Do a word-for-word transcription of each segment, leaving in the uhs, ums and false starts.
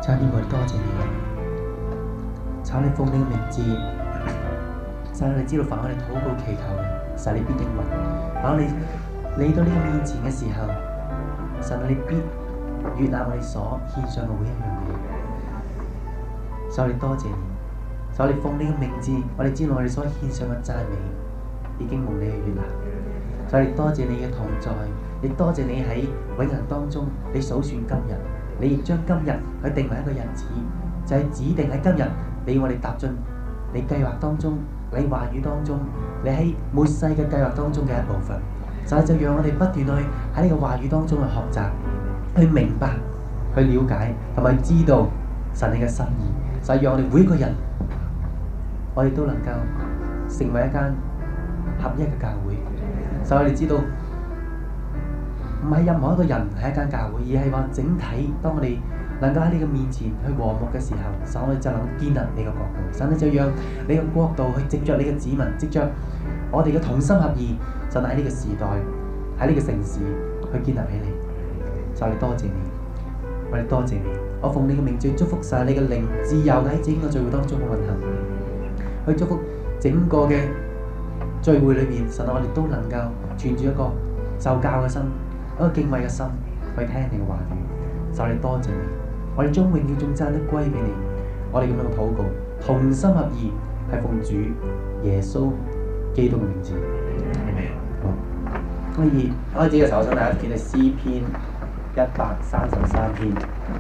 神天父，多謝你，求你奉你嘅名字，神你知道凡我哋禱告祈求嘅，神你必應允。當你嚟到呢個面前嘅時候，神你必悅納我哋所獻上嘅每一樣嘢。所以多謝你，所以奉你嘅名字，我哋知道我哋所獻上嘅讚美已經蒙你嘅悅納。所以多謝你嘅同在，亦多謝你喺永恆當中，你數算今日。你亦將今日去定為一個日子，就係、是、指定喺今日，你要我哋踏進你計劃當中，你話語當中，你喺末世嘅計劃當中嘅一部分。所以就讓我哋不斷去喺呢個話語當中去學習，去明白，去了解，同埋知道神你嘅心意。所以讓我哋每一個人，我哋都能夠成為一間合一嘅教會。所以我哋知道。唔係任何一個人係一間教會，而係話整體。當我哋能夠喺你嘅面前去和睦嘅時候，神我哋就能建立你嘅國度。神你就讓你嘅國度去藉着你嘅子民，藉着我哋嘅同心合意，就喺呢個時代，喺呢個城市去建立起嚟。所以多謝你，我哋多謝你。我奉你嘅名字祝福晒你嘅靈自由喺整個聚會當中嘅運行，去祝福整個嘅聚會裏邊，神我哋都能夠存住一個受教嘅心。一個敬畏嘅心去聽你嘅話語，就係多謝你，我哋將榮耀頌讚都歸俾你。我哋咁樣嘅禱告，同心合意，係奉主耶穌基督嘅名字。好，可以開始嘅時候，我想大家見係詩篇一百三十三篇。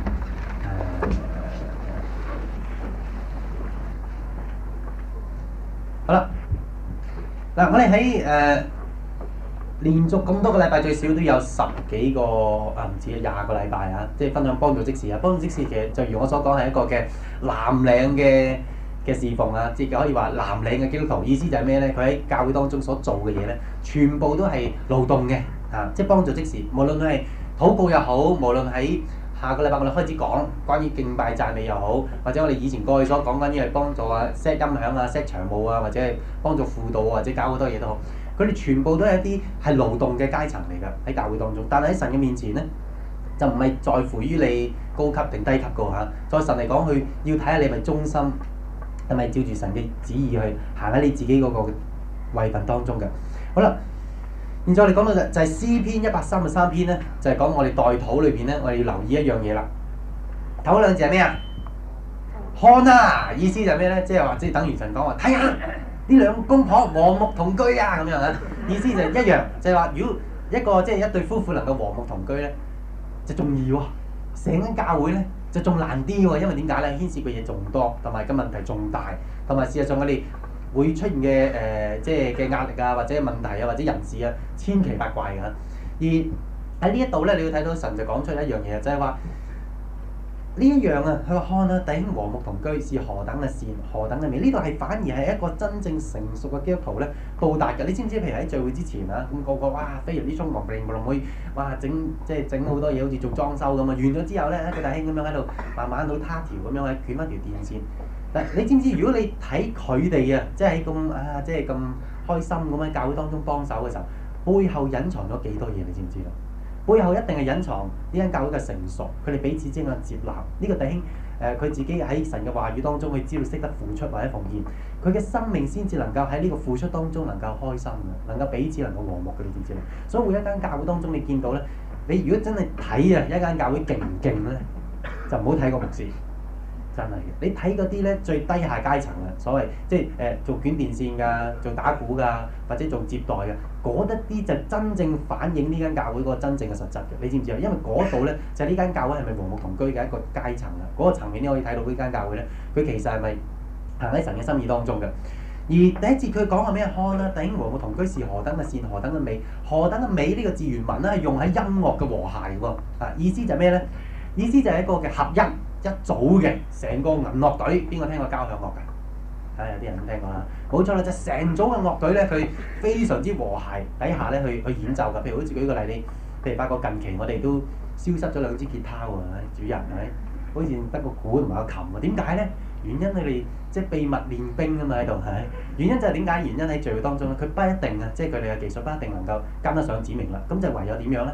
好啦，嗱，我哋喺誒。連續咁多個禮拜，最少都有十幾個啊，唔止啊，廿個禮拜啊，即係分享幫助即時啊。幫助即時其實就如我所講係一個嘅藍領嘅嘅侍奉啊，即係可以話藍領嘅基督徒。意思就係咩咧？佢喺教會當中所做嘅嘢咧，全部都係勞動嘅啊，即係幫助即時。無論佢係禱告又好，無論喺下個禮拜我哋開始講關於敬拜讚美又好，或者我哋以前過去所講關於係幫助啊 set 音響啊 set 場務啊，或者係幫助輔導啊，或者搞好多嘢都好。佢哋全部都係一啲係勞動嘅階層嚟㗎，喺教會當中。但係喺神嘅面前咧，就唔係在乎於你高級定低級㗎嚇。在神嚟講，佢要睇下你係咪忠心，係咪照住神嘅旨意去行喺你自己嗰個位份當中嘅。好啦，現在我哋講到就就係詩篇一百三十三篇咧，就係、是、講我哋代禱裏邊咧，我哋要留意一樣嘢啦。頭嗰兩字係咩啊？看啊！意思就係咩咧？即係話即係等於神講話睇下。呢兩公婆和睦同居啊，咁樣啊，意思就一樣，就係話如果一個即係一對夫婦能夠和睦同居咧，就仲易喎。成間教會咧就仲難啲喎，因為點解咧？牽涉嘅嘢仲多，同埋個問題仲大，同埋事實上我哋會出現嘅誒、呃、即係嘅壓力啊，或者問題啊，或者人事啊，千奇百怪㗎。而喺呢一度咧，你要睇到神就講出一樣嘢，就係話。呢一樣啊，佢話看啊，弟兄和睦同居是何等嘅善，何等嘅美。呢度係反而係一個真正成熟嘅基督徒咧到達嘅。你知唔知？譬如喺聚會之前啊，咁、那個個哇飛入啲衝浪並無論會哇整即係整好多嘢，好似做裝修咁啊。完咗之後咧，一個弟兄咁樣喺度慢慢到他條咁樣喺捲翻條電線。嗱，你知唔知？如果你睇佢哋啊，即係喺咁啊，即係咁開心咁喺教會當中幫手嘅時候，背後隱藏咗幾多嘢？你知唔知道？背後一定係隱藏呢間教會嘅成熟，佢哋彼此之間嘅接納。呢、這個弟兄誒，佢、呃、自己喺神嘅話語當中，佢知道識得付出或者奉獻，佢嘅生命先至能夠喺呢個付出當中能夠開心嘅，能夠彼此能夠和睦嘅，你知唔知咧？所以每一間教會當中，你見到咧，你如果真係睇啊一間教會勁唔勁咧，就唔好睇個牧師。真係嘅，你睇嗰啲咧最低下階層嘅，所謂即係誒、呃、做捲電線㗎、做打鼓㗎，或者做接待嘅，嗰一啲就真正反映呢間教會嗰個真正嘅實質嘅。你知唔知啊？因為嗰度咧就係、是、呢間教會係咪和睦同居嘅一個階層啊？嗰、那個層面你可以睇到呢間教會咧，佢其實係咪行喺神嘅心意當中嘅？而第一節佢講係咩？看啦，弟兄和睦同居是何等嘅善，何等嘅美，何等嘅美呢個字原文咧係用喺音樂嘅和諧喎。啊，意思就係咩咧？意思就係一個嘅合一。一組嘅成個銀樂隊，邊個聽過交響樂㗎？啊，有啲人都聽過啦。冇錯啦，就成、是、組嘅樂隊咧，佢非常之和諧底下咧去去演奏㗎。譬如好似舉個例，你譬如發覺近期我哋都消失咗兩支吉他喎，主人係咪？好似得個鼓同埋個琴喎。點解咧？原因佢哋即係秘密練兵啊嘛喺度係。原因就係點解？原因喺聚會當中咧，佢不一定啊，即係佢哋嘅技術不一定能夠跟得上指明啦。咁就唯有點樣咧？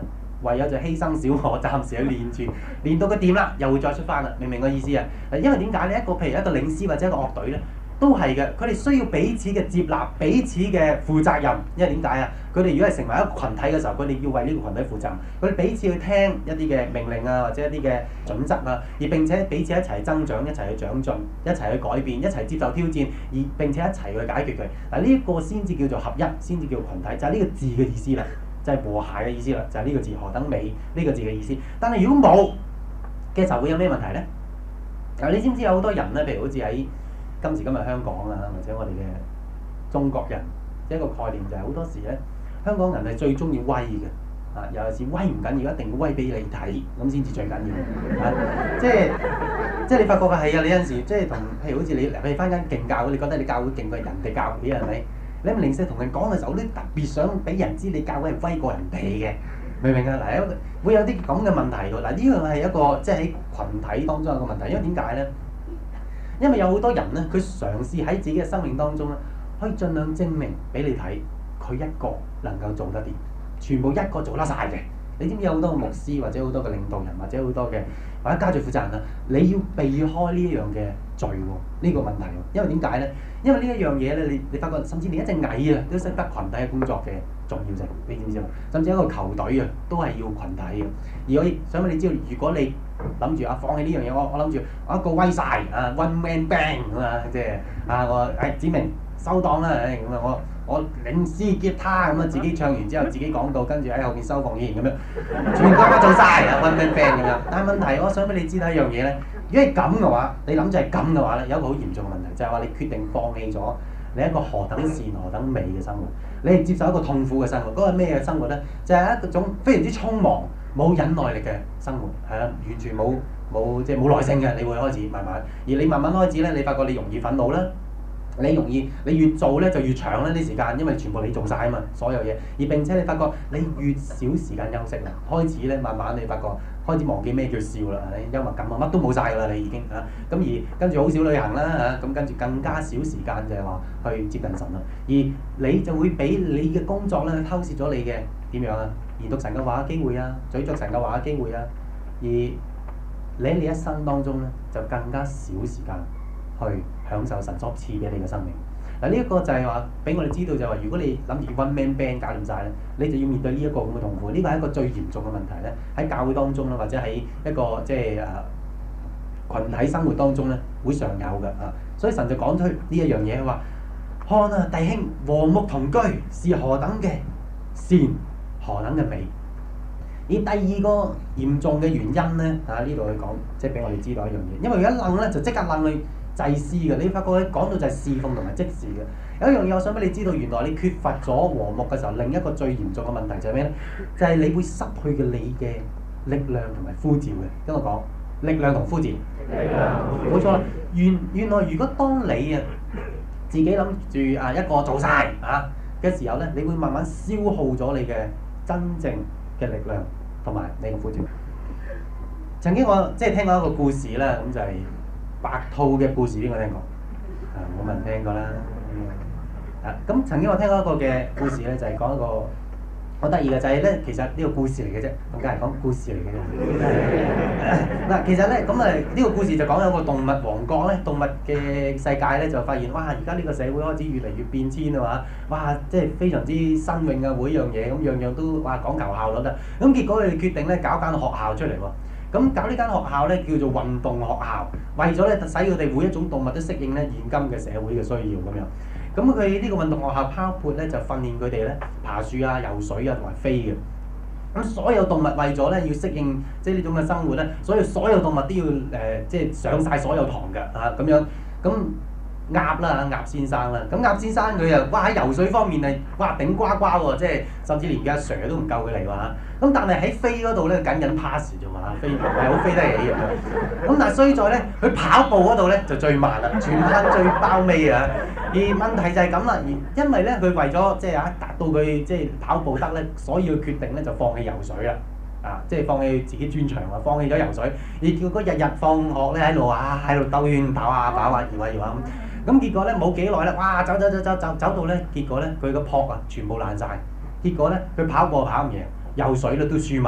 唯有就犧牲小我，暫時去練住，練到佢掂啦，又會再出翻啦。明唔明我意思啊？因為點解咧？一個譬如一個領詩或者一個樂隊咧，都係嘅。佢哋需要彼此嘅接納，彼此嘅負責任。因為點解啊？佢哋如果係成為一個群體嘅時候，佢哋要為呢個群體負責任。佢哋彼此去聽一啲嘅命令啊，或者一啲嘅準則啊，而並且彼此一齊增長，一齊去長進，一齊去改變，一齊接受挑戰，而並且一齊去解決佢。嗱，呢一個先至叫做合一，先至叫群體，就係呢個字嘅意思啦，就係和諧嘅意思啦，就係呢個字何等美呢個字嘅意思。但係如果冇嘅時候會有咩問題咧？嗱，你知唔知有好多人咧？譬如好似喺今時今日香港啊，或者我哋嘅中國人，一個概念就係好多時咧，香港人係最中意威嘅，啊，尤其是威唔緊要，一定要威俾你睇，咁先至最緊要，啊，即係即係你發覺嘅係啊，你有陣時即係同譬如好似你譬如翻間勁教會，你覺得你教會勁過人哋教會係咪？你咁零舍同人講嘅時候，你特別想俾人知你教會係威過人哋嘅，明唔明啊？嗱，會有啲咁嘅問題喎。嗱，呢樣係一個即係喺群體當中有個問題，因為點解咧？因為有好多人咧，佢嘗試喺自己嘅生命當中咧，可以盡量證明俾你睇，佢一個能夠做得掂，全部一個做得晒嘅。你知唔知有好多牧師或者好多嘅領導人或者好多嘅或者家族負責人啊？你要避開呢一樣嘅罪喎，呢個問題喎。因為點解咧？因為呢一樣嘢咧，你你發覺甚至連一隻蟻啊都識得群體嘅工作嘅重要性，你知唔知啊？甚至一個球隊啊都係要群體嘅。而我想俾你知道，如果你諗住啊放棄呢樣嘢，我我諗住我一個威晒啊 one man band 咁啊，即係啊我誒指明收檔啦，誒咁啊我。我領詩吉他咁啊，自己唱完之後自己講到，跟住喺後邊收奉獻咁樣，全部都做晒啊 one man band 咁樣。但係問題，我想俾你知道一樣嘢咧，如果係咁嘅話，你諗住係咁嘅話咧，有一個好嚴重嘅問題，就係話你決定放棄咗你一個何等善何等美嘅生活，你係接受一個痛苦嘅生活。嗰個咩嘅生活咧？就係一種非常之匆忙、冇忍耐力嘅生活，係啦，完全冇冇即係冇耐性嘅。你會開始慢慢，而你慢慢開始咧，你發覺你容易憤怒啦。你容易，你越做咧就越長啦啲時間，因為全部你做晒啊嘛，所有嘢。而並且你發覺你越少時間休息啦，開始咧慢慢你發覺開始忘記咩叫笑啦，幽默感啊乜都冇晒㗎啦，你已經嚇。咁、啊、而跟住好少旅行啦嚇，咁、啊、跟住更加少時間就係話去接近神啦。而你就會俾你嘅工作咧偷竊咗你嘅點樣啊？研讀神嘅話嘅機會啊，咀嚼神嘅話嘅機會啊。而你喺你一生當中咧就更加少時間去享受神所賜俾你嘅生命。嗱，呢一個就係話俾我哋知道就係話，如果你諗住 one man band 搞掂晒咧，你就要面對呢一個咁嘅痛苦。呢個係一個最嚴重嘅問題咧，喺教會當中啦，或者喺一個即係誒羣體生活當中咧，會常有嘅啊。所以神就講出呢一樣嘢，話看啊，弟兄和睦同居是何等嘅善，何等嘅美。而第二個嚴重嘅原因咧，啊呢度去講，即係俾我哋知道一樣嘢，因為佢一愣咧就即刻愣去祭司嘅。你發覺佢講到就係侍奉同埋即時嘅。有一樣嘢我想俾你知道，原來你缺乏咗和睦嘅時候，另一個最嚴重嘅問題就係咩咧？就係、是、你會失去嘅你嘅力量同埋呼召嘅。跟我講，力量同呼召。力量。冇錯啦。原原來如果當你啊自己諗住啊一個做晒啊嘅時候咧，你會慢慢消耗咗你嘅真正嘅力量同埋你嘅呼召。曾經我即係聽過一個故事啦，咁就係白兔嘅故事，邊個聽過？啊，冇人聽過啦。啊，咁曾經我聽過一個嘅故事咧，就係、是、講一個好得意嘅，就係、是、咧，其實呢個故事嚟嘅啫，同家人講故事嚟嘅啫。嗱，其實咧，咁啊呢個故事就講有個動物王國咧，動物嘅世界咧就發現，哇！而家呢個社會開始越嚟越變遷啊嘛，哇！即係非常之新穎啊，每樣嘢咁樣樣都哇講求效率啊。咁結果佢哋決定咧搞間學校出嚟喎。咁搞呢間學校咧叫做運動學校，為咗咧使佢哋每一種動物都適應咧現今嘅社會嘅需要咁樣。咁佢呢個運動學校包括咧就訓練佢哋咧爬樹啊、游水啊同埋飛嘅。咁所有動物為咗咧要適應即係呢種嘅生活咧，所以所有動物都要誒、呃、即係上晒所有堂㗎嚇咁樣。咁鴨啦，鴨先生啦，咁鴨先生佢又哇喺游水方面係哇頂呱呱喎，即係甚至連阿 Sir 都唔夠佢嚟喎。咁但係喺飛嗰度咧，僅僅 pass 啫嘛，飛唔係好飛得起嘅。咁但係衰在咧，佢跑步嗰度咧就最慢啦，全班最包尾啊！而問題就係咁啦，而因為咧佢為咗即係啊達到佢即係跑步得咧，所以佢決定咧就放棄游水啦。啊！即係放棄自己專長啊，放棄咗游水，而叫佢日日放學咧喺度啊，喺度兜圈跑下跑下搖下搖下咁。咁結果咧冇幾耐咧，哇！走走走走走走到咧，結果咧佢個蹼啊全部爛晒。結果咧佢跑步跑唔贏，游水咧都輸埋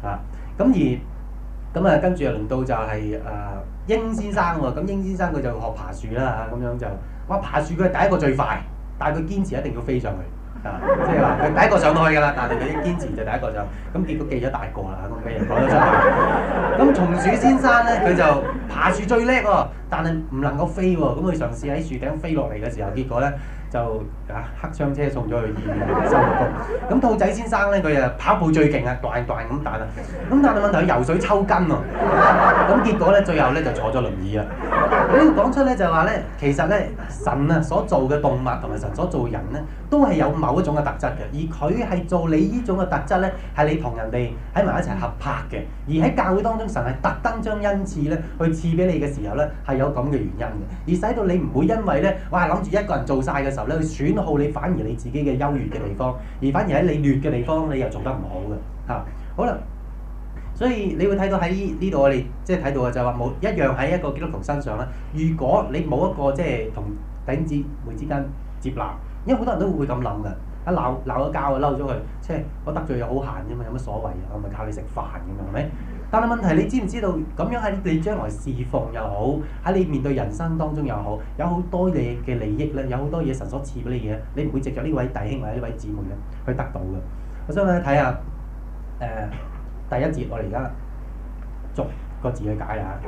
啊，咁而咁啊，跟住又輪到就係、是、誒、呃、英先生喎，咁英先生佢就學爬樹啦嚇，咁樣就哇爬樹佢係第一個最快，但係佢堅持一定要飛上去。啊，即係話佢第一個上到去㗎啦，但係佢一堅持就第一個上，咁結果記咗大個啦，咁俾人講咗出嚟。咁松鼠先生咧，佢就爬樹最叻喎，但係唔能夠飛喎，咁佢嘗試喺樹頂飛落嚟嘅時候，結果咧就啊黑槍車送咗去醫院收工。咁兔仔先生咧，佢啊跑步最勁啊，斷斷咁彈啊，咁但係問題佢游水抽筋喎，咁結果咧最後咧就坐咗輪椅啦。呢個講出咧就話咧，其實咧神啊所做嘅動物同埋神所做人咧，都係有某一種嘅特質嘅，而佢係做你呢種嘅特質咧，係你同人哋喺埋一齊合拍嘅。而喺教會當中，神係特登將恩賜咧去賜俾你嘅時候咧，係有咁嘅原因嘅，而使到你唔會因為咧，哇諗住一個人做晒嘅時候咧，去損耗你反而你自己嘅優越嘅地方，而反而喺你劣嘅地方，你又做得唔好嘅嚇。好啦。所以你會睇到喺呢度我哋即係睇到嘅就係話冇一樣喺一個基督徒身上咧。如果你冇一個即係同弟兄姊妹之間接納，因為好多人都會咁諗嘅，一鬧鬧咗交啊，嬲咗佢，即係我得罪又好閒啫嘛，有乜所謂啊？我咪靠你食飯咁樣係咪？但係問題你知唔知道咁樣喺你將來侍奉又好，喺你面對人生當中又好，有好多你嘅利益咧，有好多嘢神所賜俾你嘅，你唔會藉著呢位弟兄或者呢位姊妹咧去得到嘅。我想咧睇下誒。呃第一節，我哋而家逐個字去解啊！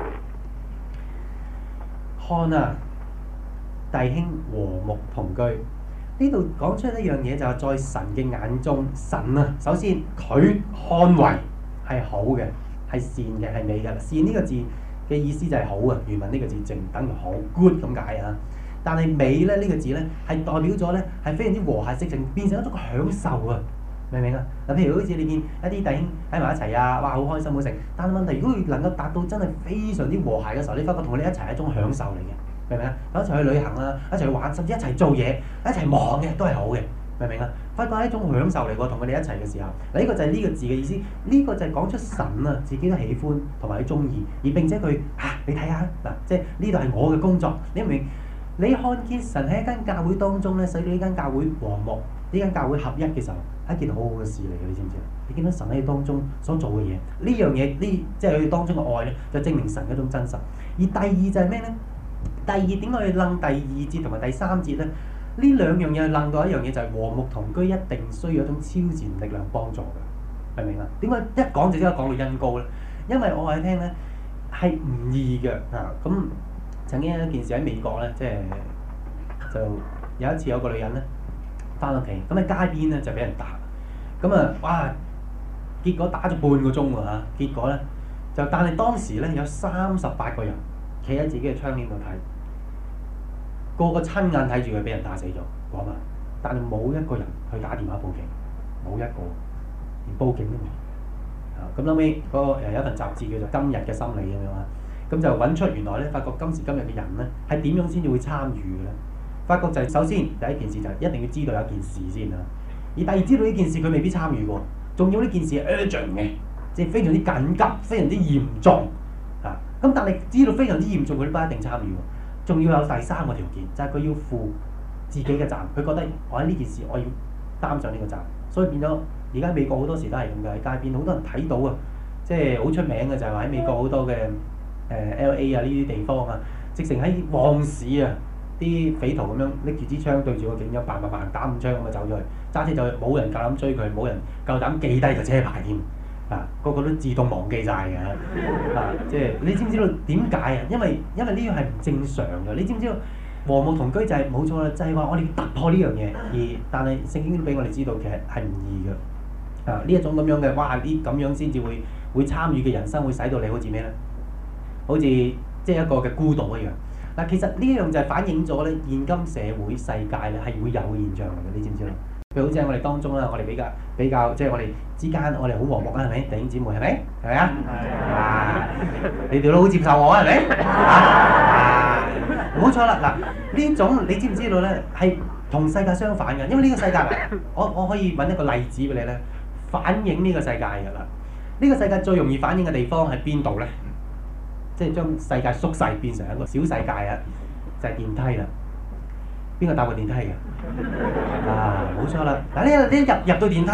看啊，弟兄和睦同居。呢度講出一樣嘢，就係在神嘅眼中，神啊，首先佢看為係好嘅，係善嘅，係美嘅。善呢個字嘅意思就係好啊，原文呢個字正等於好 good 咁解啊。但係美咧呢、呢個字咧係代表咗咧係非常之和諧色情，變成一種享受啊！明唔明啊？嗱，譬如好似你見一啲弟兄喺埋一齊啊，哇，好開心好食。但係問題，如果佢能夠達到真係非常之和諧嘅時候，你發覺同佢哋一齊係一種享受嚟嘅，明唔明啊？一齊去旅行啊，一齊去玩，甚至一齊做嘢，一齊忙嘅都係好嘅，明唔明啊？發覺係一種享受嚟喎，同佢哋一齊嘅時候。嗱，呢個就係呢個字嘅意思。呢、這個就係講出神啊，自己都喜歡同埋佢中意，而並且佢嚇、啊、你睇下嗱，即係呢度係我嘅工作，你明唔明？你看見神喺一間教會當中咧，使到呢間教會和睦，呢間教會合一嘅時候，係一件好好嘅事嚟嘅，你知唔知啊？你見到神喺當中所做嘅嘢，呢樣嘢呢，即係佢當中嘅愛咧，就證明神嗰種真實。而第二就係咩咧？第二點解去楞第二節同埋第三節咧？呢兩樣嘢去楞到一樣嘢，就係和睦同居一定需要一種超自然力量幫助嘅，明唔明啊？點解一講就即刻講到恩膏咧？因為我話你聽咧，係唔易嘅啊！咁曾經有一件事喺美國咧，即係就有一次有個女人咧翻屋企，咁喺街邊咧就俾人打，咁啊哇！結果打咗半個鐘喎嚇，結果咧就但係當時咧有三十八個人企喺自己嘅窗簾度睇，個個親眼睇住佢俾人打死咗嗰晚，但係冇一個人去打電話報警，冇一個連報警都冇。啊咁後尾嗰個誒有一份雜誌叫做《今日嘅心理》咁樣啊。咁就揾出原來咧，發覺今時今日嘅人咧係點樣先至會參與嘅咧？發覺就係首先第一件事就係一定要知道有件事先啊。而第二知道呢件事佢未必參與過，仲要呢件事係 urgent 嘅，即係非常之緊急、非常之嚴重啊。咁但係知道非常之嚴重，佢都不一定參與喎。仲要有第三個條件，就係佢要負自己嘅責任。佢覺得我喺呢件事我要擔上呢個責任，所以變咗而家美國好多時都係咁嘅，喺街邊好多人睇到啊，即係好出名嘅就係話喺美國好多嘅。誒、呃、L A 啊呢啲地方啊，直情喺旺市啊，啲匪徒咁樣拎住支槍對住個警長，嘭嘭嘭打五槍咁啊走咗去，揸車就去，冇人夠膽追佢，冇人夠膽記低個車牌添，啊個個都自動忘記晒嘅，啊即係你知唔知道點解啊？因為因為呢樣係唔正常嘅，你知唔知道和睦同居就係冇錯啦，就係、是、話我哋要突破呢樣嘢，而但係聖經都俾我哋知道其實係唔易嘅，啊呢一種咁樣嘅哇啲咁樣先至會會參與嘅人生會使到你好似咩咧？好似即係一個嘅孤島一樣。嗱，其實呢一樣就係反映咗咧現今社會世界咧係會有嘅現象嚟嘅，你知唔知咧？譬如好似喺我哋當中啦，我哋比較比較即係我哋之間我哋好和睦啊，係咪？弟兄姊妹係咪？係咪啊？啊！你哋都好接受我係咪？啊！冇錯啦，嗱呢種你知唔知道咧係同世界相反嘅，因為呢個世界我我可以揾一個例子俾你咧，反映呢個世界㗎啦。呢個世界最容易反映嘅地方係邊度咧？即係將世界縮細變成一個小世界啊！就係、是、電梯啦。邊個搭過電梯嘅？啊，冇錯啦！嗱，呢你一入入到電梯，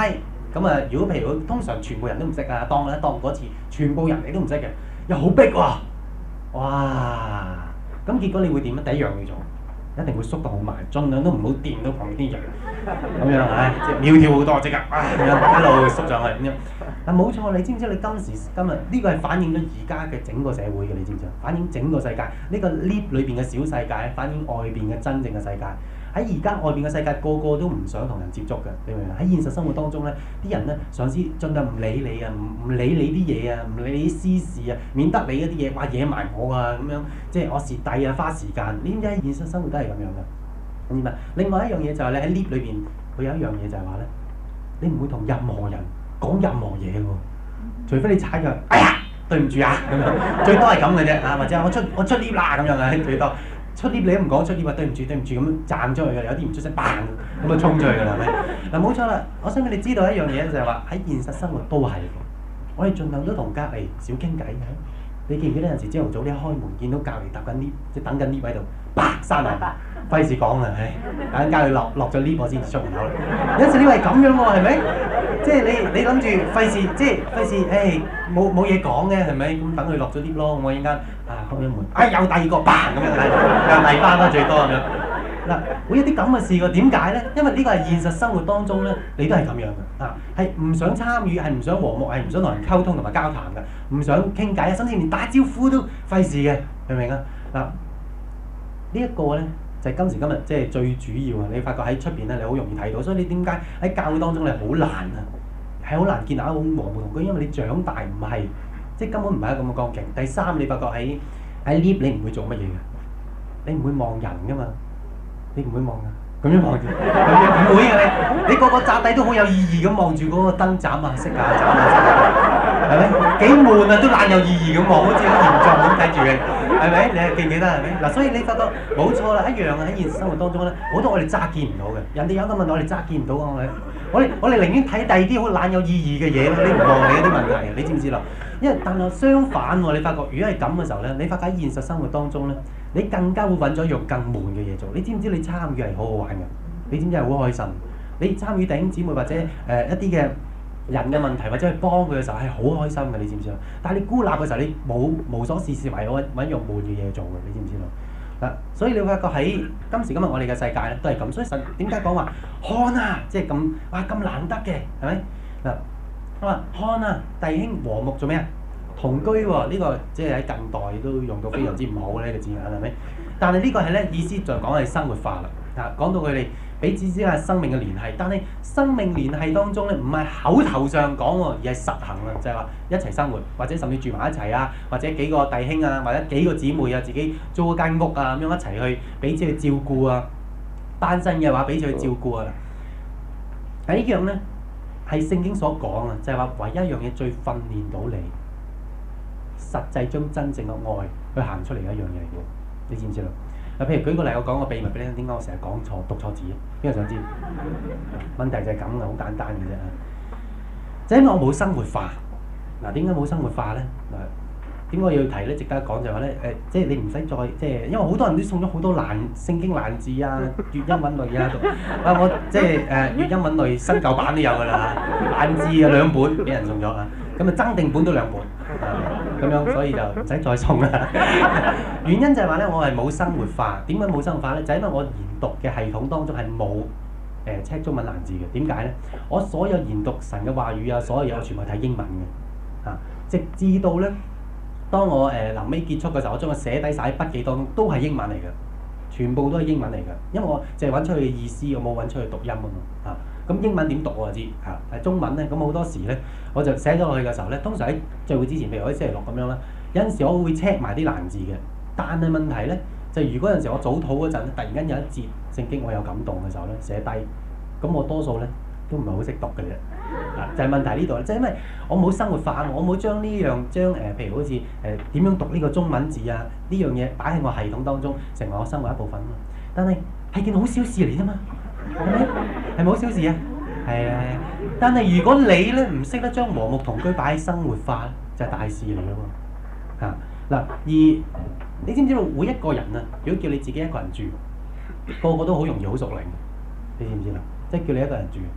咁啊，如果譬如通常全部人都唔識啊，當咧當嗰次全部人你都唔識嘅，又好逼喎，哇！咁結果你會點咧？第一樣要做，一定會縮到好埋，盡量都唔好掂到旁邊啲人，咁樣唉，即係苗條好多即刻，唉咁樣一路縮上去咁樣。但冇錯，你知唔知你今時今日呢個係反映咗而家嘅整個社會嘅，你知唔知啊？反映整個世界呢個 lift 裏邊嘅小世界，反映外邊嘅真正嘅世界。喺而家外邊嘅世界，個個都唔想同人接觸嘅，你明唔明？喺現實生活當中咧，啲人咧嘗試盡量唔理你啊，唔唔理你啲嘢啊，唔理你啲私事啊，免得你嗰啲嘢哇惹埋我啊咁樣，即係我蝕底啊，花時間。你知唔知喺現實生活都係咁樣嘅？明唔明？另外一樣嘢就係你喺 lift 裏邊，佢有一樣嘢就係話咧，你唔會同任何人講任何嘢喎，除非你踩腳，哎呀對唔住啊咁樣，最多係咁嘅啫啊，或者我出我出 lift 啦咁樣啊，最多。出 lift 你都唔講出 lift 話對唔住對唔住咁樣站出去嘅，有啲唔出聲 bang 咁啊衝出去㗎啦，係咪？嗱冇錯啦，我想俾你知道一樣嘢就係話喺現實生活都係，我哋盡量都同隔離少傾偈嘅。你記唔記得有陣時朝頭早你一開門見到隔離搭緊 lift，即係等緊 lift 喺度，啪閂埋，費事講啦，唉，等間佢落落咗 lift 我先至出門口啦。有陣時你話係咁樣喎，係咪？即係你你諗住費事，即係費事，誒冇冇嘢講嘅係咪？咁等佢落咗 lift 咯，我陣間啊開咗門，哎有第二個 bang 咁樣，又第班啦最多咁樣。嗱，會有啲咁嘅事喎，點解咧？因為呢個係現實生活當中咧，你都係咁樣嘅，啊係唔想參與，係唔想和睦，係唔想同人溝通同埋交談嘅，唔想傾偈啊，甚至連打招呼都費事嘅，明唔明啊？嗱，呢一個咧就係今時今日即係最主要啊！你發覺喺出邊咧，你好容易睇到，所以你點解喺教會當中你係好難啊？係好難建立一種和睦同居，因為你長大唔係即係根本唔係一個咁嘅光景。第三，你發覺喺喺 lift 你唔會做乜嘢嘅，你唔會望人噶嘛。你唔會望㗎，咁樣望住，唔會嘅你，你個個扎底都好有意義咁望住嗰個燈斬啊、熄啊、斬啊，係咪？幾悶啊，都懶有意義咁望，好似好嚴重咁睇住你，係咪？你係記唔記得係咪？嗱，所以你發覺冇錯啦，一樣啊！喺現實生活當中咧，好多我哋揸見唔到嘅，人哋有個問題我哋揸見唔到啊！我哋，我哋我哋寧願睇第二啲好懶有意義嘅嘢，你唔望你嗰啲問題，你知唔知啦？因為但係相反喎，你發覺如果係咁嘅時候咧，你發覺喺現實生活當中咧。你更加會揾咗一樣更悶嘅嘢做，你知唔知你參與係好好玩嘅？你知唔知係好開心？你參與弟兄姊妹或者誒、呃、一啲嘅人嘅問題，或者去幫佢嘅時候係好開心嘅，你知唔知啊？但係你孤立嘅時候，你冇無所事事為揾揾一樣悶嘅嘢做嘅，你知唔知道？嗱，所以你會發覺喺今時今日我哋嘅世界咧都係咁，所以神點解講話看啊，即係咁哇咁難得嘅係咪？嗱，我話看啊，弟兄和睦做咩啊？同居喎、哦，呢、這個即係喺近代都用到非常之唔好嘅呢個字眼係咪？但係呢個係咧意思就講係生活化啦。啊，講到佢哋彼此之間生命嘅聯繫，但係生命聯繫當中咧唔係口頭上講喎，而係實行啊，就係、是、話一齊生活，或者甚至住埋一齊啊，或者幾個弟兄啊，或者幾個姊妹啊，自己租一間屋啊咁樣一齊去彼此去照顧啊。單身嘅話彼此去照顧啊。係呢樣咧係聖經所講啊，就係、是、話唯一一樣嘢最訓練到你。實際將真正嘅愛去行出嚟嘅一樣嘢嚟嘅，你知唔知啦？嗱，譬如舉個例，我講個秘密俾你聽，點解我成日講錯、讀錯字？邊個想知？問題就係咁嘅，好簡單嘅啫。就因為我冇生活化。嗱，點解冇生活化咧？嗱，點解我要提咧？值得講就係話咧，誒，即係你唔使再即係，因為好多人都送咗好多難聖經難字啊、粵音韻律啊，啊，我即係誒粵音韻律新舊版都有㗎啦，難字啊兩本俾人送咗啊，咁啊增訂本都兩本。咁樣，所以就唔使再送啦。原因就係話咧，我係冇生活化。點解冇生活化咧？就係因為我研讀嘅系統當中係冇誒 check 中文難字嘅。點解咧？我所有研讀神嘅話語啊，所有嘢我全部睇英文嘅。啊，直至到咧，當我誒臨尾結束嘅時候，我將佢寫低晒喺筆記當中，都係英文嚟嘅，全部都係英文嚟嘅。因為我淨係揾出去嘅意思，我冇揾出去讀音啊嘛。啊。咁英文點讀我就知嚇，係中文咧，咁好多時咧，我就寫咗落去嘅時候咧，通常喺聚會之前，譬如我喺星期六咁樣啦，有陣時我會 check 埋啲難字嘅，但係問題咧，就如果有陣時我早禱嗰陣，突然間有一節聖經我有感動嘅時候咧，寫低，咁我多數咧都唔係好識讀嘅啫，啊，就係、是、問題呢度咧，即係因為我冇生活化，我冇將呢樣將誒、呃，譬如好似誒點樣讀呢個中文字啊，呢樣嘢擺喺我系統當中，成為我生活一部分啊，但係係件好小事嚟啫嘛。係咪？係咪好小事啊？係啊！但係如果你咧唔識得將和睦同居擺喺生活化，就係、是、大事嚟嘅喎。嚇、啊、嗱，而你知唔知道每一個人啊，如果叫你自己一個人住，個個都好容易好熟齡，你知唔知啦？即係叫你一個人住，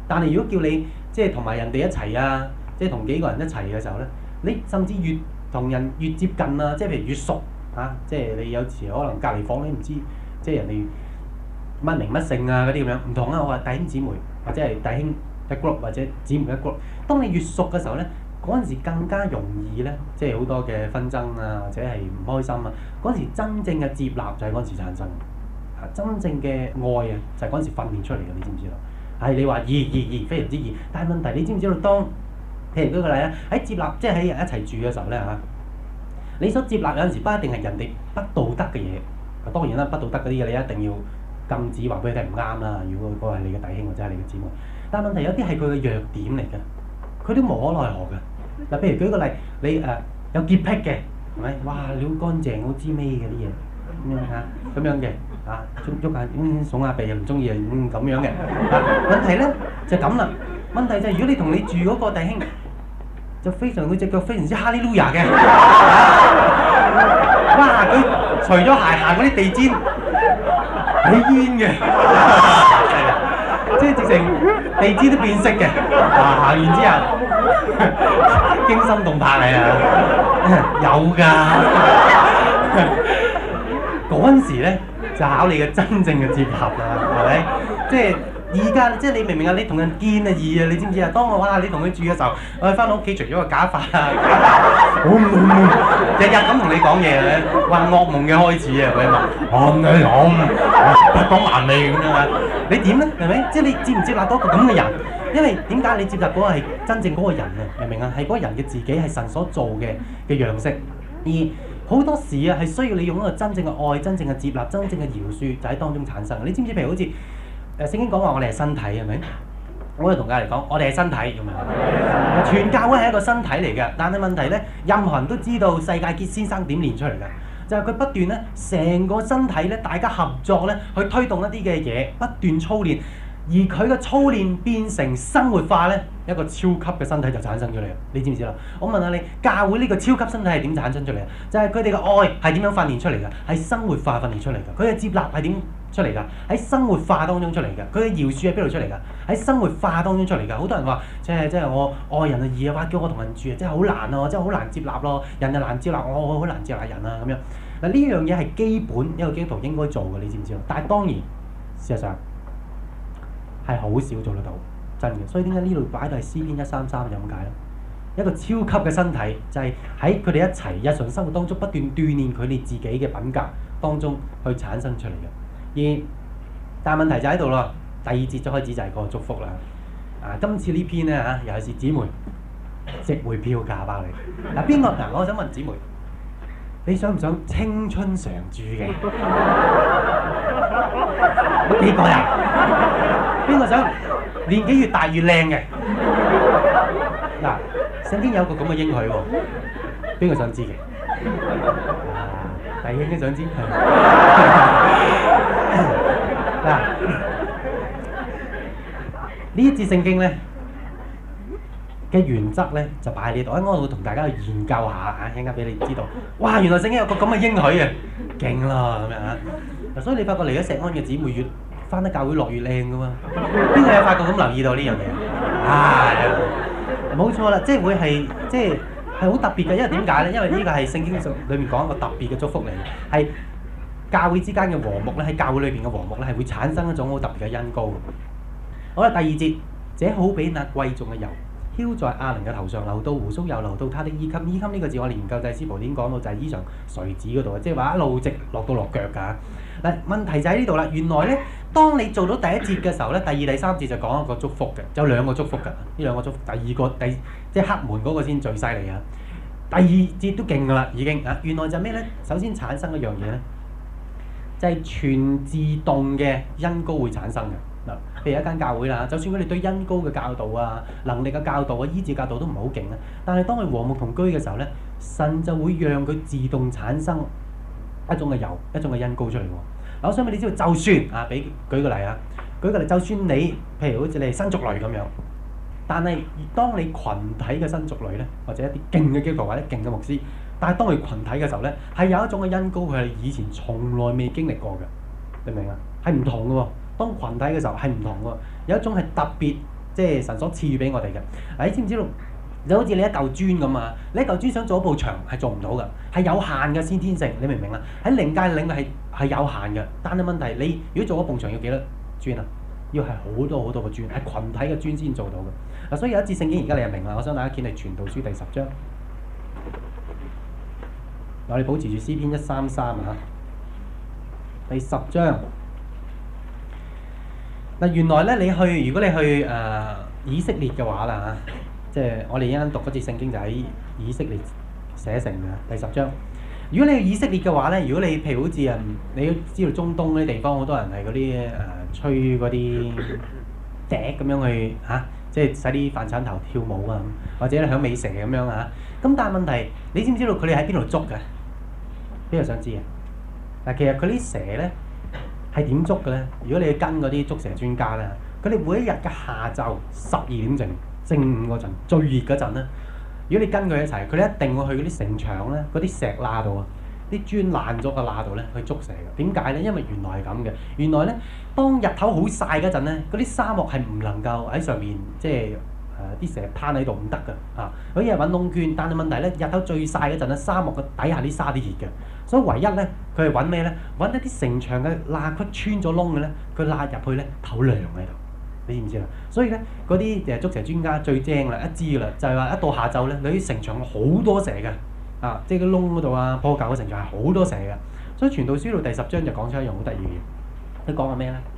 但係如果叫你即係同埋人哋一齊啊，即係同幾個人一齊嘅時候咧，你甚至越同人越接近啊，即係譬如越熟啊，即係你有時可能隔離房你唔知，即係人哋乜名乜姓啊嗰啲咁樣，唔同啊！我話弟兄姊妹或者係弟兄一 group 或者姊妹一 group，當你越熟嘅時候咧，嗰陣時更加容易咧，即係好多嘅紛爭啊，或者係唔開心啊，嗰陣時真正嘅接納就係嗰陣時產生。啊！真正嘅愛啊，就係嗰陣時訓練出嚟嘅，你知唔知道？係你話易易易，非常之易。但係問題，你知唔知道？當譬如舉個例咧，喺接納，即係喺人一齊住嘅時候咧嚇，你所接納有陣時不一定係人哋不道德嘅嘢。當然啦，不道德嗰啲嘢你一定要禁止話俾佢聽唔啱啦。如果嗰個係你嘅弟兄或者係你嘅姊妹，但係問題有啲係佢嘅弱點嚟嘅，佢都無可奈何嘅。嗱，譬如舉個例，你誒、呃、有潔癖嘅，係咪？哇！你好乾淨，好滋味嘅啲嘢咁樣嚇，咁樣嘅。啊，喐喐下，嗯，聳下鼻又唔中意啊，嗯咁樣嘅。啊，問題咧就咁啦。問題就係如果你同你住嗰個弟兄，就非常佢隻腳非常之哈利路亞嘅。哇！佢除咗鞋行嗰啲地氈，起煙嘅，即係直情地氈都變色嘅。啊，行完之後驚心動魄嚟啊！有㗎。嗰陣時咧。就考你嘅真正嘅接合啦，係咪？即係而家，即係你明唔明啊？你同人見啊易啊，你知唔知啊？當我哇，你同佢住嘅時候，我翻到屋企除咗個假髮啊，日日咁同你講嘢咧，話噩夢嘅開始啊！佢話：我唔係我，不講萬利咁樣啊！你點咧？係咪？即係你接唔接納到一個咁嘅人？因為點解你接納嗰個係真正嗰個人啊？明唔明啊？係嗰個人嘅自己係神所做嘅嘅樣式，而好多時啊，係需要你用一個真正嘅愛、真正嘅接納、真正嘅饒恕，就喺當中產生。你知唔知？譬如好似誒聖經講話，我哋係身體，係咪？我哋同大家嚟講，我哋係身體咁樣。全教會係一個身體嚟嘅，但係問題咧，任何人都知道世界傑先生點練出嚟嘅，就係佢不斷咧，成個身體咧，大家合作咧，去推動一啲嘅嘢，不斷操練。而佢嘅操練變成生活化咧，一個超級嘅身體就產生咗嚟。你知唔知啦？我問下你，教會呢個超級身體係點產生出嚟啊？就係佢哋嘅愛係點樣訓練出嚟㗎？係生活化訓練出嚟㗎。佢嘅接納係點出嚟㗎？喺生活化當中出嚟㗎。佢嘅饒恕喺邊度出嚟㗎？喺生活化當中出嚟㗎。好多人話，即係即係我愛人啊易啊，哇！叫我同人住啊，真係好難啊，真係好難接納咯。人就難接納我，我好難接納人啊咁樣。嗱，呢樣嘢係基本一個基督徒應該做嘅，你知唔知啊？但係當然事實上，係好少做得到，真嘅。所以點解呢度擺到係詩篇一三三就咁解啦？一個超級嘅身體就係喺佢哋一齊日常生活當中不斷鍛鍊佢哋自己嘅品格當中去產生出嚟嘅。而但係問題就喺度咯，第二節就開始就係個祝福啦。啊，今次呢篇咧嚇，尤其是姊妹值回票價包你。嗱邊個嗱？我想問姊妹，你想唔想青春常駐嘅？幾個人？邊個想年紀越大越靚嘅？嗱，聖經有個咁嘅應許喎，邊個想知嘅？啊，弟兄都想知。嗱，呢一節聖經咧嘅原則咧就擺喺呢度，我會同大家去研究下啊，一陣間俾你知道。哇，原來聖經有個咁嘅應許啊，勁啦咁樣啊！嗱，所以你發覺嚟咗石安嘅姊妹越翻得教會落越靚噶嘛？邊個有發覺咁留意到呢樣嘢？啊，冇錯啦，即係會係即係係好特別嘅，因為點解咧？因為呢個係聖經裏面講一個特別嘅祝福嚟，係教會之間嘅和睦咧，喺教會裏邊嘅和睦咧，係會產生一種好特別嘅恩膏。好啦，第二節，這好比那貴重嘅油，澆在亞倫嘅頭上，流到鬍鬚，又流到他的衣襟。衣襟呢個字我研究祭司簿點講到就係衣裳垂子嗰度啊，即係話一路直落到落腳㗎。嗱，問題就喺呢度啦。原來咧，當你做到第一節嘅時候咧，第二、第三節就講一個祝福嘅，有兩個祝福㗎。呢兩個祝福，第二個第即係黑門嗰個先最犀利啊！第二節都勁㗎啦，已經啊。原來就係咩咧？首先產生一樣嘢咧，就係全自動嘅恩膏會產生嘅。嗱，譬如一間教會啦，就算佢哋對恩膏嘅教導啊、能力嘅教導啊、醫治教導都唔係好勁啊，但係當佢和睦同居嘅時候咧，神就會讓佢自動產生一種嘅油、一種嘅恩膏出嚟喎。嗱，我想俾你知道，就算啊，俾舉個例啊，舉個例，就算你譬如好似你係新族類咁樣，但係當你群體嘅新族類咧，或者一啲勁嘅基督徒或者勁嘅牧師，但係當佢群體嘅時候咧，係有一種嘅恩膏，佢係以前從來未經歷過嘅，明唔明啊？係唔同嘅喎。當群體嘅時候係唔同喎，有一種係特別即係神所賜予俾我哋嘅。嗱，你知唔知道？就好似你一嚿磚咁啊，你一嚿磚想做一埲牆係做唔到㗎，係有限嘅先天性，你明唔明啊？喺靈界領域係係有限嘅，但係問題你如果做一埲牆要幾多磚啊？要係好多好多個磚，係群體嘅磚先做到嘅。嗱，所以有一節聖經而家你就明啦。我想大家見係傳道書第十章，我哋保持住詩篇一三三啊，第十章。嗱，原來咧你去，如果你去誒、呃、以色列嘅話啦嚇。即係我哋一陣讀嗰節聖經就喺以色列寫成嘅第十章。如果你去以色列嘅話咧，如果你譬如好似啊，你都知道中東嗰啲地方好多人係嗰啲誒吹嗰啲笛咁樣去嚇、啊，即係使啲飯鏟頭跳舞啊，或者響尾蛇咁樣啊。咁但係問題，你知唔知道佢哋喺邊度捉嘅？邊個想知啊？嗱，其實佢啲蛇咧係點捉嘅咧？如果你去跟嗰啲捉蛇專家咧，佢哋每一日嘅下晝十二點正。正午嗰陣最熱嗰陣咧，如果你跟佢一齊，佢哋一定會去嗰啲城牆咧、嗰啲石罅度啊、啲磚爛咗嘅罅度咧去捉蛇嘅。點解咧？因為原來係咁嘅。原來咧，當日頭好曬嗰陣咧，嗰啲沙漠係唔能夠喺上面即係誒啲蛇攤喺度唔得㗎嚇。佢一係揾窿鑽，但係問題咧，日頭最曬嗰陣咧，沙漠嘅底下啲沙啲熱嘅，所以唯一咧佢係揾咩咧？揾一啲城牆嘅罅隙穿咗窿嘅咧，佢罅入去咧透涼喺度。你知唔知啊？所以咧，嗰啲誒捉蛇專家最精啦，一知㗎啦，就係話一到下晝咧，你啲城牆好多蛇嘅，啊，即係個窿嗰度啊，破舊嘅城牆係好多蛇嘅。所以傳道書到第十章就講出一樣好得意嘅嘢。佢講緊咩咧？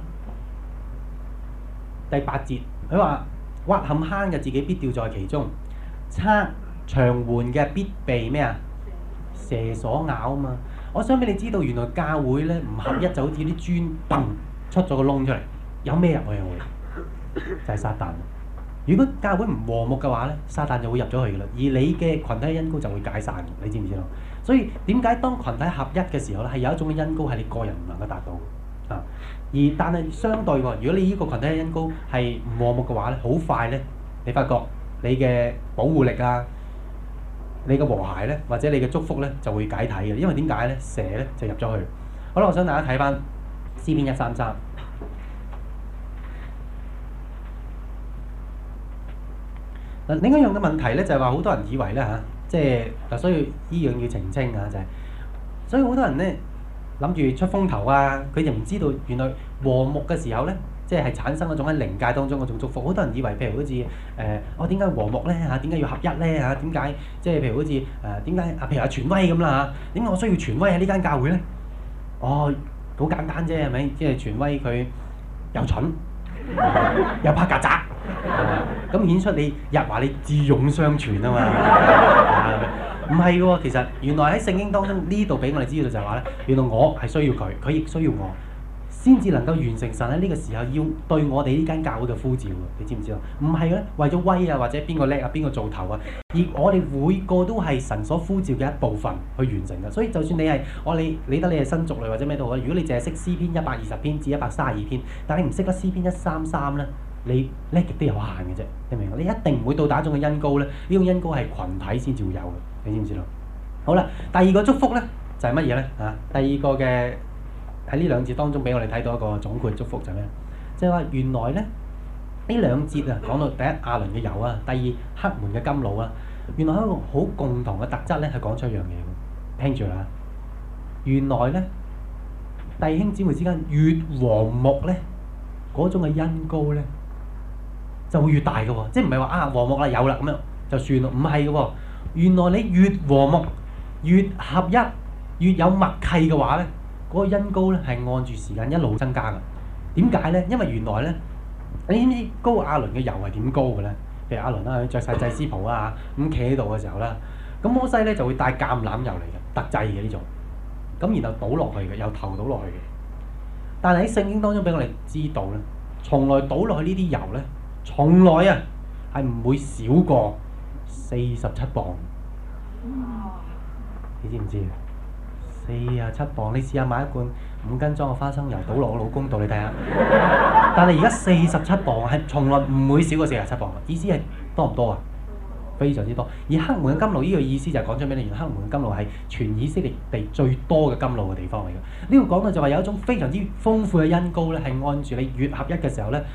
第八節，佢話挖陷坑嘅自己必掉在其中，測長緩嘅必被咩啊？蛇所咬啊嘛。我想俾你知道，原來教會咧唔合一就好似啲磚崩出咗個窿出嚟，有咩入去啊會？就係撒旦。如果教會唔和睦嘅話咧，撒旦就會入咗去㗎啦。而你嘅群體恩膏就會解散，你知唔知道？所以點解當群體合一嘅時候咧，係有一種嘅恩膏係你個人唔能夠達到啊。而但係相對喎，如果你呢個群體恩膏係唔和睦嘅話咧，好快咧，你發覺你嘅保護力啊、你嘅和諧咧，或者你嘅祝福咧就會解體嘅。因為點解咧？蛇咧就入咗去。好啦，我想大家睇翻詩篇一三三。另一樣嘅問題咧，就係話好多人以為咧嚇，即係嗱，所以依樣要澄清啊，就係，所以好多人咧諗住出風頭啊，佢就唔知道原來和睦嘅時候咧，即係係產生嗰種喺靈界當中嗰種祝福。好多人以為譬如好似誒，我點解和睦咧嚇？點解要合一咧嚇？點解即係譬如好似誒點解啊？譬如阿傳威咁啦嚇，點解我需要傳威喺呢間教會咧？哦，好簡單啫，係咪？即係傳威佢又蠢又怕曱甴。咁顯出你日話你智勇雙全啊嘛，唔係嘅喎，其實原來喺聖經當中呢度俾我哋知道就係話咧，原來我係需要佢，佢亦需要我，先至能夠完成神喺呢個時候要對我哋呢間教會嘅呼召喎，你知唔知道？唔係咧，為咗威啊，或者邊個叻啊，邊個做頭啊，而我哋每個都係神所呼召嘅一部分去完成嘅，所以就算你係我你理得你係新族類或者咩都好，如果你淨係識詩篇一百二十篇至一百三十二篇，但係你唔識得詩篇一三三咧。你叻極都有限嘅啫，你明唔明？你一定唔會到達一種嘅恩膏咧，呢種恩膏係群體先至會有嘅，你知唔知道？好啦，第二個祝福咧就係乜嘢咧？啊，第二個嘅喺呢兩節當中俾我哋睇到一個總括祝福就係咩？即係話原來咧呢兩節啊講到第一亞倫嘅油啊，第二黑門嘅甘露啊，原來一個好共同嘅特質咧係講出一樣嘢嘅，聽住啦。原來咧弟兄姊妹之間越和睦咧，嗰種嘅恩膏咧，就會越大嘅喎，即係唔係話啊和睦啦有啦咁樣就算咯，唔係嘅喎。原來你越和睦、越合一、越有默契嘅話咧，嗰個恩膏咧係按住時間一路增加嘅。點解咧？因為原來咧，你知唔知高亞倫嘅油係點高嘅咧？譬如亞倫啦，佢著曬祭司袍啊，咁企喺度嘅時候啦，咁摩西咧就會帶橄欖油嚟嘅，特製嘅呢種，咁然後倒落去嘅，由頭倒落去嘅。但係喺聖經當中俾我哋知道咧，從來倒落去呢啲油咧。從來啊，係唔會少過四十七磅。你知唔知啊？四十七磅，你試下買一罐五斤裝嘅花生油，倒落我老公度，你睇下。但係而家四十七磅係從來唔會少過四十七磅。意思係多唔多啊？非常之多。而黑門嘅甘露呢個意思就係講出俾你，原來黑門嘅甘露係全以色列地最多嘅甘露嘅地方嚟嘅。呢度講到就話有一種非常之豐富嘅恩膏咧，係按住你越合一嘅時候咧。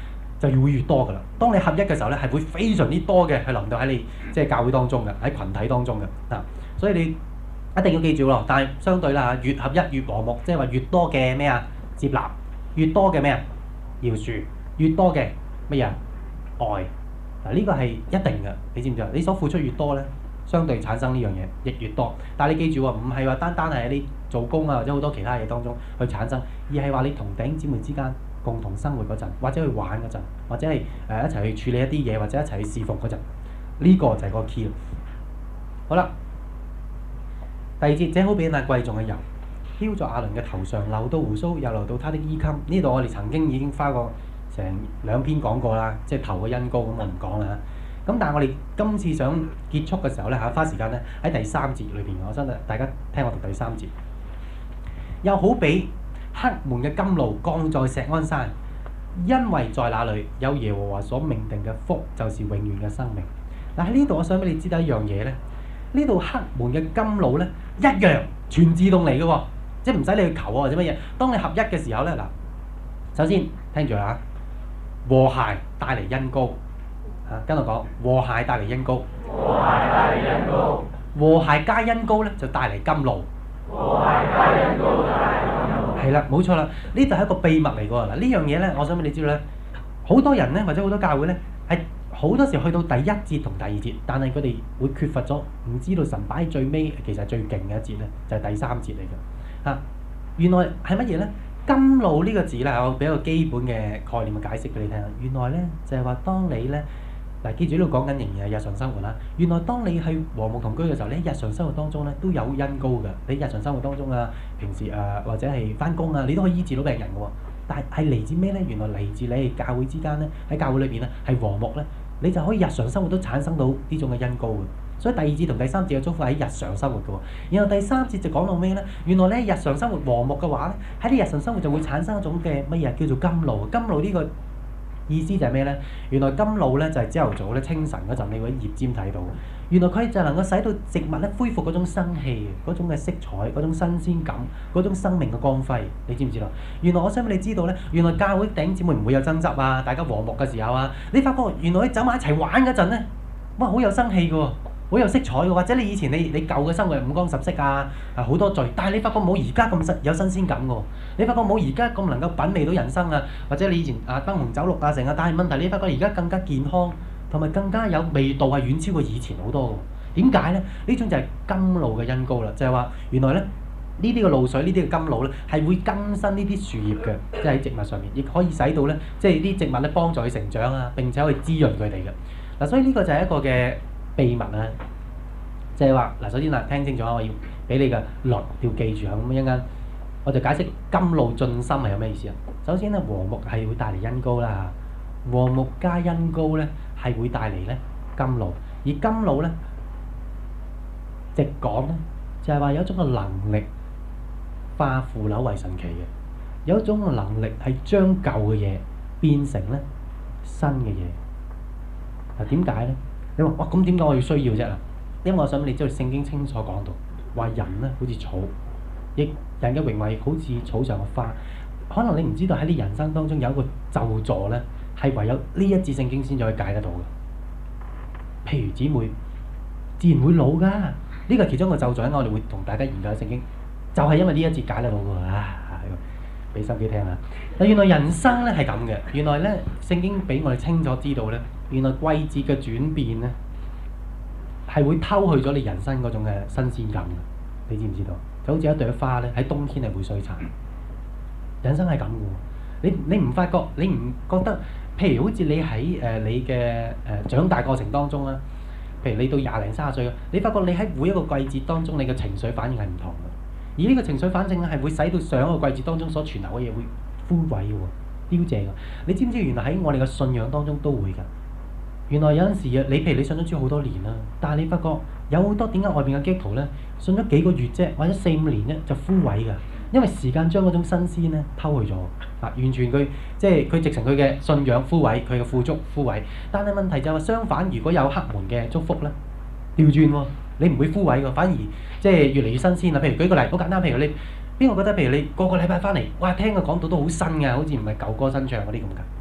就會越多噶啦。當你合一嘅時候咧，係會非常之多嘅，係臨到喺你即係教會當中嘅，喺群體當中嘅嗱。所以你一定要記住咯。但係相對啦，越合一越和睦，即係話越多嘅咩啊接納，越多嘅咩啊饒恕，越多嘅乜嘢愛嗱，呢個係一定嘅。你知唔知啊？你所付出越多咧，相對產生呢樣嘢亦越多。但係你記住喎，唔係話單單係喺你做工啊或者好多其他嘢當中去產生，而係話你同弟兄姊妹之間共同生活嗰陣，或者去玩嗰陣，或者係誒、呃、一齊去處理一啲嘢，或者一齊去侍奉嗰陣，呢、這個就係個 key 啦。好啦，第二節，這好比那貴重嘅油，澆在亞倫嘅頭上，流到鬍鬚，又流到他的衣襟。呢度我哋曾經已經花過成兩篇講過啦，即係頭嘅恩膏，咁我唔講啦。咁但係我哋今次想結束嘅時候咧嚇，花時間咧喺第三節裏邊，我想大家聽我讀第三節。又好比黑門嘅甘露降在錫安山，因為在那裡有耶和華所命定嘅福，就是永遠嘅生命。嗱，喺呢度我想俾你知道一樣嘢咧，呢度黑門嘅甘露咧一樣全自動嚟嘅喎，即係唔使你去求啊或者乜嘢。當你合一嘅時候咧，嗱，首先聽住啦，和諧帶嚟恩膏。啊，跟我講，和諧帶嚟恩膏， 和諧帶嚟恩膏， 和諧加恩膏咧就帶嚟甘露， 和諧加恩膏帶嚟甘露。 係啦，冇錯啦，呢度係一個秘密嚟㗎喎。嗱，呢樣嘢咧，我想俾你知道咧，好多人咧或者好多教會咧係好多時去到第一節同第二節，但係佢哋會缺乏咗，唔知道神擺喺最尾，其實最勁嘅一節咧就係第三節嚟㗎。啊，原來係乜嘢咧？甘露呢個字咧，我俾一個基本嘅概念嘅解釋俾你聽。原來咧就係話，當你咧。嗱，記住呢度講緊仍然係日常生活啦。原來當你係和睦同居嘅時候，你喺日常生活當中咧都有恩膏嘅。你日常生活當中啊，平時誒、呃、或者係翻工啊，你都可以醫治到病人嘅喎。但係係嚟自咩咧？原來嚟自你哋教會之間咧，喺教會裏邊咧係和睦咧，你就可以日常生活都產生到呢種嘅恩膏嘅。所以第二節同第三節嘅祝福喺日常生活嘅喎。然後第三節就講到咩咧？原來咧日常生活和睦嘅話咧，喺你日常生活就會產生一種嘅乜嘢叫做甘露。甘露呢個意思就係咩咧？原來甘露咧就係朝頭早咧清晨嗰陣，你會喺葉尖睇到。原來佢就能夠使到植物咧恢復嗰種生氣、嗰種嘅色彩、嗰種新鮮感、嗰種生命嘅光輝。你知唔知道？原來我想俾你知道咧，原來教會弟兄姊妹唔會有爭執啊，大家和睦嘅時候啊，你發覺原來你走埋一齊玩嗰陣咧，哇好有生氣嘅喎，好有色彩嘅，或者你以前你你舊嘅生活五光十色啊，啊好多罪，但係你發覺冇而家咁新有新鮮感嘅喎，你發覺冇而家咁能夠品味到人生啊，或者你以前啊燈紅酒綠啊成啊，但係問題你發覺而家更加健康，同埋更加有味道係遠超過以前好多嘅。點解咧？呢種就係甘露嘅恩膏啦，就係話原來咧呢啲嘅露水呢啲嘅甘露咧係會更新呢啲樹葉嘅，即係喺植物上面，亦可以使到咧即係啲植物咧幫助佢成長啊，並且可以滋潤佢哋嘅。嗱，所以呢個就係一個嘅秘密啊，就係話嗱，首先嗱，聽清楚啊，我要俾你嘅律要記住啊，咁一陣間我就解釋甘露進心係有咩意思啊。首先咧，和睦係會帶嚟恩膏啦，和睦加恩膏咧係會帶嚟咧甘露，而甘露咧直講咧就係話有一種嘅能力化腐朽為神奇嘅，有一種嘅能力係將舊嘅嘢變成咧新嘅嘢。嗱，點解咧？你話哇，咁點解我要需要啫？因為我想你知道聖經清楚講到，話人咧好似草，亦人嘅榮華好似草上嘅花。可能你唔知道喺你人生當中有一個咒詛咧，係唯有呢一節聖經先至可以解得到嘅。譬如姊妹自然會老㗎，呢個係其中一個咒詛，我哋會同大家研究聖經，就係因為呢一節解得到㗎。啊，俾心機聽下。嗱，原來人生咧係咁嘅，原來咧聖經俾我哋清楚知道咧。原來季節嘅轉變咧，係會偷去咗你人生嗰種嘅新鮮感嘅。你知唔知道？就好似一朵花咧，喺冬天係會衰殘。人生係咁嘅喎。你你唔發覺？你唔覺得？譬如好似你喺誒、呃、你嘅誒、呃、長大過程當中啦，譬如你到廿零三十歲，你發覺你喺每一個季節當中，你嘅情緒反應係唔同嘅。而呢個情緒反應咧，係會使到上一個季節當中所存留嘅嘢會枯萎嘅喎，凋謝嘅。你知唔知原來喺我哋嘅信仰當中都會㗎？原來有陣時啊，你譬如你信咗主好多年啦，但係你發覺有好多點解外邊嘅基督徒咧信咗幾個月啫，或者四五年咧就枯萎㗎，因為時間將嗰種新鮮咧偷去咗啊！完全佢即係佢直情佢嘅信仰枯萎，佢嘅富足枯萎。但係問題就係話相反，如果有黑門嘅祝福咧，調轉喎，你唔會枯萎㗎，反而即係越嚟越新鮮啦。譬如舉個例，好簡單，譬如你邊個覺得譬如你個個禮拜翻嚟，哇聽佢講到都好新㗎，好似唔係舊歌新唱嗰啲咁㗎。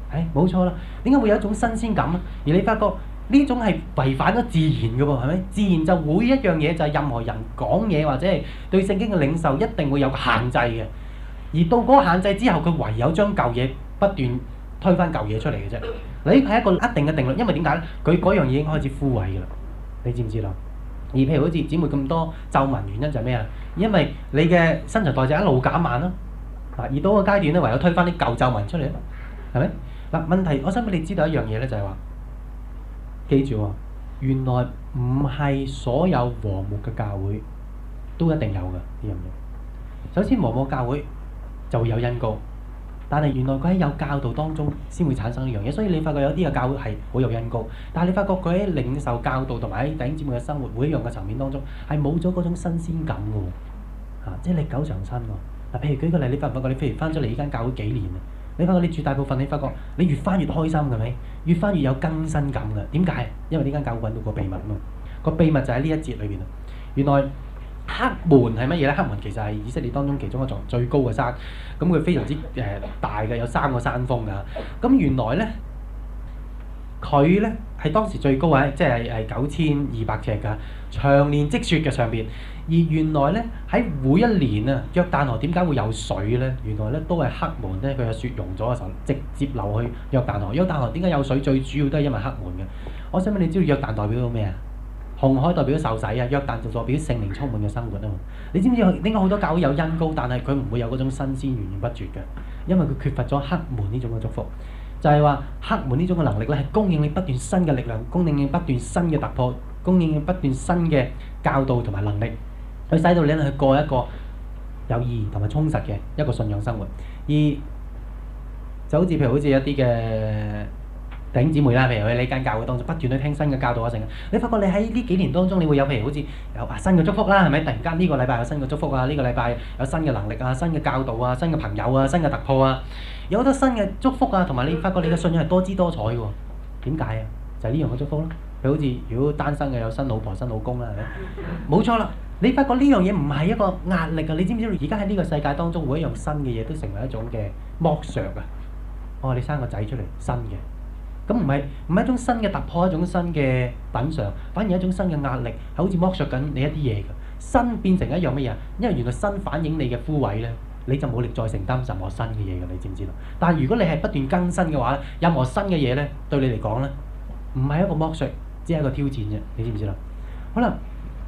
係冇錯啦。點解會有一種新鮮感啊？而你發覺呢種係違反咗自然嘅喎，係咪？自然就每一樣嘢就係任何人講嘢或者係對聖經嘅領受，一定會有個限制嘅。而到嗰個限制之後，佢唯有將舊嘢不斷推翻舊嘢出嚟嘅啫。你係一個一定嘅定律，因為點解咧？佢嗰樣嘢已經開始枯萎㗎啦。你知唔知啦？而譬如好似姊妹咁多皺紋，原因就係咩啊？因為你嘅新陳代謝一路減慢咯。嗱，而到個階段咧，唯有推翻啲舊皺紋出嚟咯，係咪？嗱，問題我想俾你知道一樣嘢咧，就係話，記住喎，原來唔係所有和睦嘅教會都一定有嘅呢樣嘢。首先和睦教會就會有恩膏，但係原來佢喺有教導當中先會產生呢樣嘢，所以你發覺有啲嘅教會係好有恩膏，但係你發覺佢喺領受教導同埋喺弟兄姊妹嘅生活每一樣嘅層面當中係冇咗嗰種新鮮感嘅喎，啊，即係歷久常新喎。嗱，譬如舉個例，你發唔發覺你譬如翻咗嚟呢間教會幾年啊？你發覺你絕大部分你發覺你越翻越開心係咪？越翻越有更新感嘅。點解？因為呢間教會揾到個秘密啊嘛。個秘密就喺呢一節裏邊啊。原來黑門係乜嘢咧？黑門其實係以色列當中其中一座最高嘅山，咁佢非常之誒、呃、大嘅，有三個山峰㗎。咁原來咧，佢咧係當時最高啊，即係係九千二百尺㗎，長年積雪嘅上邊。而原來咧喺每一年啊，約旦河點解會有水咧？原來咧都係黑門咧，佢有雪融咗嘅時候，直接流去約旦河。約旦河點解有水？最主要都係因為黑門嘅。我想問你知道約旦代表到咩啊？紅海代表受洗啊，約旦就代表聖靈充滿嘅生活啊嘛。你知唔知點解好多教會有恩膏，但係佢唔會有嗰種新鮮源源不絕嘅？因為佢缺乏咗黑門呢種嘅祝福。就係話黑門呢種嘅能力咧，係供應你不斷新嘅力量，供應你不斷新嘅突破，供應你不斷新嘅教導同埋能力。去使到你去過一個有意義同埋充實嘅一個信仰生活，而就好似譬如好似一啲嘅弟兄姊妹啦，譬如喺呢間教會當中不斷去聽新嘅教導啊，成你發覺你喺呢幾年當中，你會有譬如好似有啊新嘅祝福啦，係咪？突然間呢個禮拜有新嘅祝福啊，呢個禮拜有新嘅能力啊，新嘅教導啊，新嘅朋友啊，新嘅突破啊，有好多新嘅祝福啊，同埋你發覺你嘅信仰係多姿多彩嘅喎。點解啊？就係呢樣嘅祝福咯。譬如好似如果單身嘅有新老婆新老公啦，係咪？冇錯啦。你發覺呢樣嘢唔係一個壓力啊！你知唔知道而家喺呢個世界當中，每一樣新嘅嘢都成為一種嘅剝削啊！哦，你生個仔出嚟新嘅，咁唔係唔係一種新嘅突破，一種新嘅品嚐，反而一種新嘅壓力，係好似剝削緊你一啲嘢嘅。新變成一樣乜嘢？因為原來新反映你嘅枯萎咧，你就冇力再承擔任何新嘅嘢嘅，你知唔知道？但係如果你係不斷更新嘅話咧，任何新嘅嘢咧，對你嚟講咧，唔係一個剝削，只係一個挑戰啫，你知唔知啦？好啦。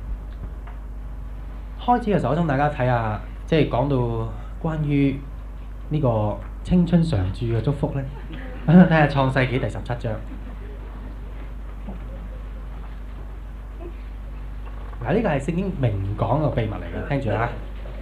開始嘅時候，我想大家睇下，即係講到關於呢個青春常駐嘅祝福咧，睇下創世紀第十七章。嗱，呢個係聖經明講嘅秘密嚟嘅，聽住啦。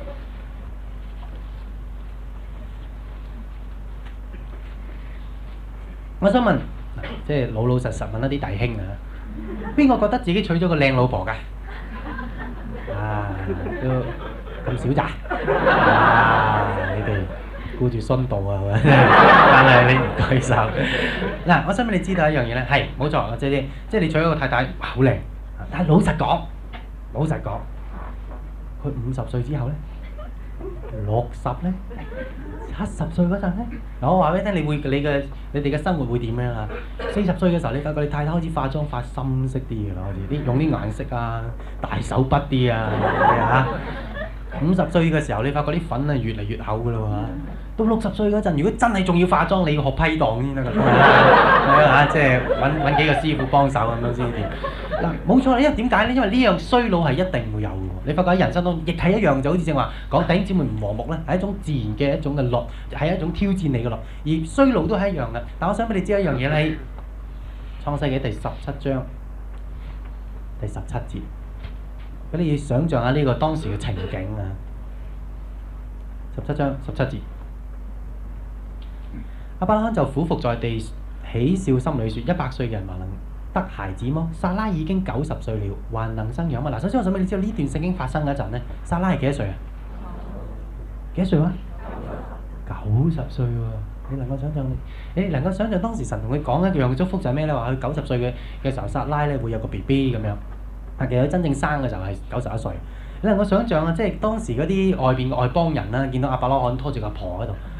我想問，即係老老實實問一啲弟兄啊，邊個覺得自己娶咗個靚老婆㗎？啊，都咁少咋？啊，你哋顧住殉道啊，係咪？但係你唔舉手。嗱，我想俾你知道一樣嘢咧，係冇錯，即係即係你娶咗個太太，哇，好靚。但係老實講，老實講，佢五十歲之後咧，六十咧，七十歲嗰陣咧，嗱，我話俾你聽，你會你嘅你哋嘅生活會點樣啊？四十歲嘅時候，你發覺你太太開始化妝化深色啲嘅啦，好似啲用啲顏色啊，大手筆啲啊，嚇。五十歲嘅時候，你發覺啲粉啊越嚟越厚嘅啦喎。到六十歲嗰陣，如果真係仲要化妝，你要學批檔先得㗎。係啊，即係揾揾幾個師傅幫手咁樣先掂。嗱，冇錯啦，因為點解咧？因為呢樣衰老係一定會有嘅喎。你發覺喺人生當中亦係一樣，就好似正話講弟兄姊妹唔和睦咧，係一種自然嘅一種嘅律，係一種挑戰你嘅律。而衰老都係一樣嘅。但我想俾你知一樣嘢咧，創世紀第十七章第十七節，咁你要想像下呢個當時嘅情景啊。十七章十七節，亞伯拉罕就俯伏在地，喜笑心裏說：一百歲嘅人還能得孩子麼？撒拉已經九十歲了，還能生養嗎？嗱，首先我想俾你知道呢段聖經發生嗰陣咧，撒拉係幾多歲啊？幾多歲啊？九十歲喎！你能夠想像？你能夠想像當時神同佢講一樣祝福就係咩咧？話佢九十歲嘅嘅時候，撒拉咧會有個 B B 咁樣。但其實佢真正生嘅就係九十一歲。你能夠想像啊？即係當時嗰啲外邊嘅外邦人啦，見到亞伯拉罕拖住個婆喺度，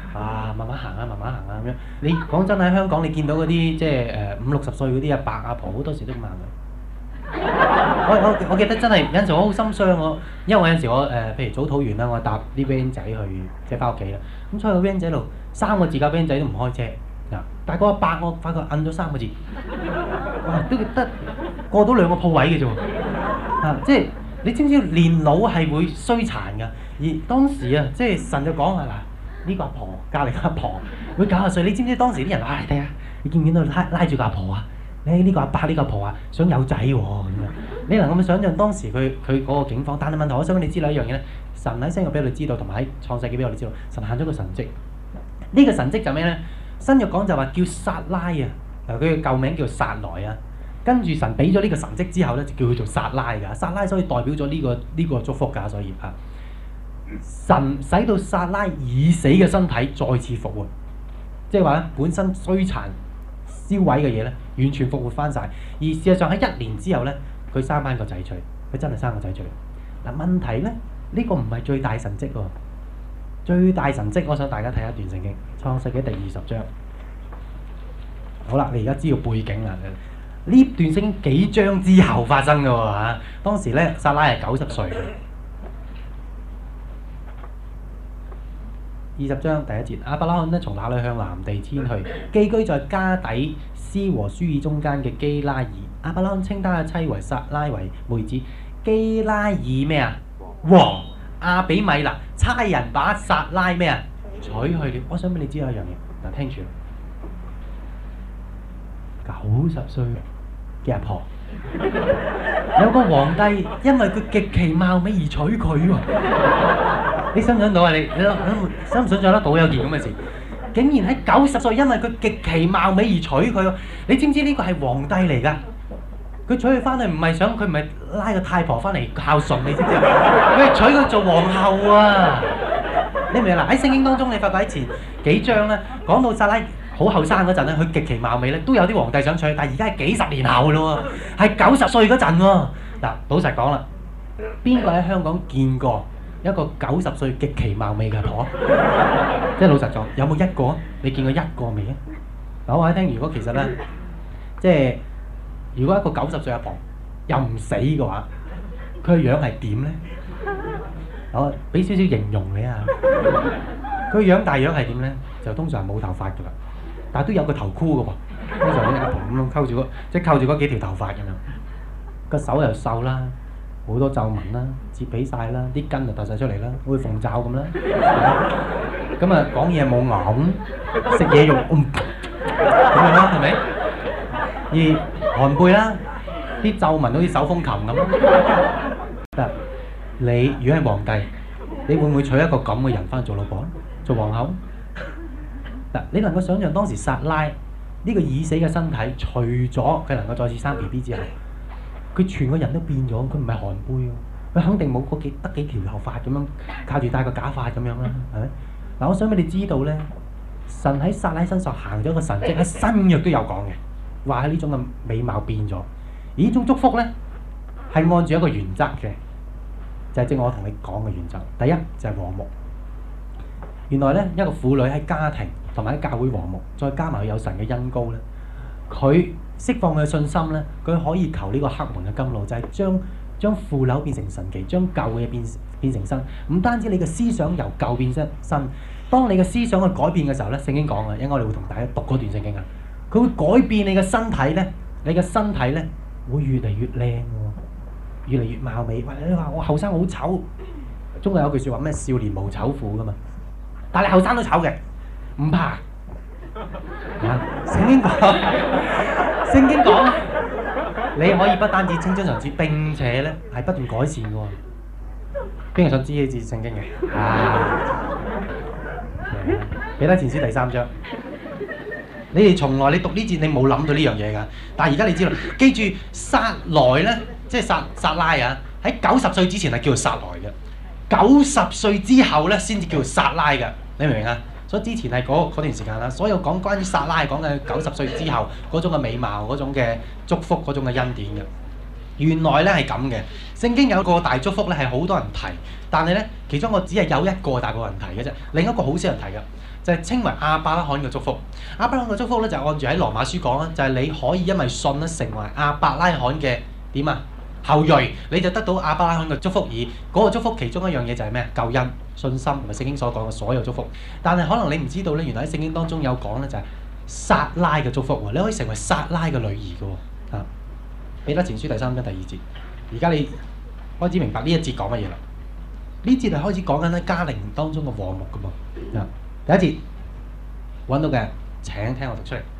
啊，慢慢行啊，慢慢行啊咁樣。你講真喺香港，你見到嗰啲即係誒五六十歲嗰啲阿伯阿婆，好多時都咁行嘅。我我我記得真係有陣時我好心傷我，因為我有陣時我誒、呃、譬如早禱完啦，我搭啲 van 仔去即係翻屋企啦。咁所以個 van 仔度三個字架 van 仔都唔開車嗱，但係個阿伯我發覺摁咗三個字，哇都得過到兩個鋪位嘅啫喎啊！即係你知唔知年老係會衰殘㗎？而當時啊，即係神就講啊嗱，呢個阿婆隔離個阿婆會九十歲，你知唔知當時啲人話睇下，你見唔見到拉拉住個阿婆啊？你呢個阿伯呢個阿婆啊，想有仔喎咁樣，你能夠想象當時佢佢嗰個境況？但係問題，我想俾你知道一樣嘢咧，神喺新約俾我哋知道，同埋喺創世記俾我哋知道，神行咗個神蹟。呢個神蹟就咩咧？新約講就話叫撒拉啊，嗱佢嘅舊名叫撒萊啊。跟住神俾咗呢個神蹟之後咧，就叫佢做撒拉㗎。撒拉所以代表咗呢個呢個祝福㗎，所以啊，神使到撒拉已死嘅身體再次復活，即係話咧本身衰殘燒毀嘅嘢咧，完全復活翻晒。而事實上喺一年之後咧，佢生翻個仔出嚟，佢真係生個仔出嚟。嗱問題咧，呢個唔係最大神蹟喎，最大神蹟我想大家睇一段聖經，創世記第二十章。好啦，你而家知道背景啦。呢段聖經幾章之後發生嘅喎嚇，當時咧撒拉係九十歲嘅。二十章第一節，亞伯拉罕咧從那裏向南地遷去，寄居在加底斯和舒爾中間嘅基拉爾。亞伯拉罕稱他嘅妻為撒拉為妹子。基拉爾咩啊？王亞比米勒差人把撒拉咩啊娶去了。我想俾你知道一樣嘢，嗱聽住，九十歲嘅阿婆，有個皇帝因為佢極其貌美而娶佢喎。你想唔想到啊？你你諗想唔想像得到有件咁嘅事？竟然喺九十歲，因為佢極其貌美而娶佢喎。你知唔知呢個係皇帝嚟㗎？佢娶佢翻去唔係想佢唔係拉個太婆翻嚟孝順，你知唔知啊？佢係娶佢做皇后啊！你明唔明啊？喺聖經當中，你發覺喺前幾章咧，講到撒拉好後生嗰陣咧，佢極其貌美咧，都有啲皇帝想娶，但係而家係幾十年後咯喎，係九十歲嗰陣喎。嗱，老實講啦，邊個喺香港見過一個九十歲極其貌美嘅婆？即係老實講，有冇一個？你見過一個未啊？嗱，我話你聽，如果其實咧，即係如果一個九十歲阿婆又唔死嘅話，佢嘅樣係點咧？我俾少少形容你啊，佢個樣大樣係點咧？就通常係冇頭髮㗎啦。但係都有個頭箍嘅喎，通常啲阿婆咁樣溝住嗰，即係溝住嗰幾條頭髮咁樣，個手又瘦啦，好多皺紋啦，摺起晒啦，啲筋就突晒出嚟啦，好似鳳爪咁啦。咁啊講嘢冇牙咁，食嘢用嗯咁樣啦，係咪？而寒背啦，啲皺紋好似手風琴咁。嗱，你如果係皇帝，你會唔會娶一個咁嘅人翻去做老婆，做皇后？嗱，你能夠想象當時撒拉呢個已死嘅身體，除咗佢能夠再次生 B B 之後，佢全個人都變咗，佢唔係寒背喎，佢肯定冇嗰幾得幾條頭髮咁樣，靠住戴個假髮咁樣啦，係咪？嗱，我想俾你知道咧，神喺撒拉身上行咗個神蹟，喺新約都有講嘅，話喺呢種嘅美貌變咗，而呢種祝福咧係按住一個原則嘅，就係正我同你講嘅原則。第一就係和睦。原來咧一個婦女喺家庭同埋喺教會和睦，再加埋佢有神嘅恩膏咧，佢釋放佢嘅信心咧，佢可以求呢個黑門嘅甘露，就係將將腐朽變成神奇，將舊嘅嘢變變成新。唔單止你嘅思想由舊變新，當你嘅思想去改變嘅時候咧，聖經講嘅，因為我哋會同大家讀嗰段聖經啊，佢會改變你嘅身體咧，你嘅身體咧會越嚟越靚喎，越嚟越貌美。喂，你話我後生好醜，中國有句説話咩？少年無醜婦噶嘛。但係你後生都醜嘅，唔怕。啊，聖經講，聖經講，你可以不單止青春常駐，並且咧係不斷改善嘅喎。邊個想知呢節聖經嘅？啊，彼得前書第三章。你哋從來你讀呢節你冇諗到呢樣嘢㗎，但係而家你知道，記住撒萊咧，即係撒撒拉啊，喺九十歲之前係叫做撒萊嘅。九十歲之後咧，先至叫做撒拉嘅，你明唔明啊？所以之前係嗰段時間啦。所有講關於撒拉係講緊九十歲之後嗰種嘅美貌、嗰種嘅祝福、嗰種嘅恩典嘅。原來咧係咁嘅， 聖經有個大祝福咧，係好多人提，但係咧其中我只係有一個大部分人提嘅啫，另一個好少人提嘅，就係稱為亞伯拉罕嘅祝福。亞伯拉罕嘅祝福咧就係按住喺羅馬書講啦，就係你可以因為信咧成為亞伯拉罕嘅點啊後裔，你就得到亞伯拉罕嘅祝福。而嗰個祝福其中一樣嘢就係咩啊？救恩、信心同埋聖經所講嘅所有祝福。但係可能你唔知道咧，原來喺聖經當中有講咧就係撒拉嘅祝福喎，你可以成為撒拉嘅女兒嘅喎。啊，彼得前書第三章第二節，而家你開始明白呢一節講乜嘢啦？呢節係開始講緊喺家庭當中嘅和睦嘅噃。啊，第一節揾到嘅請聽我讀出嚟。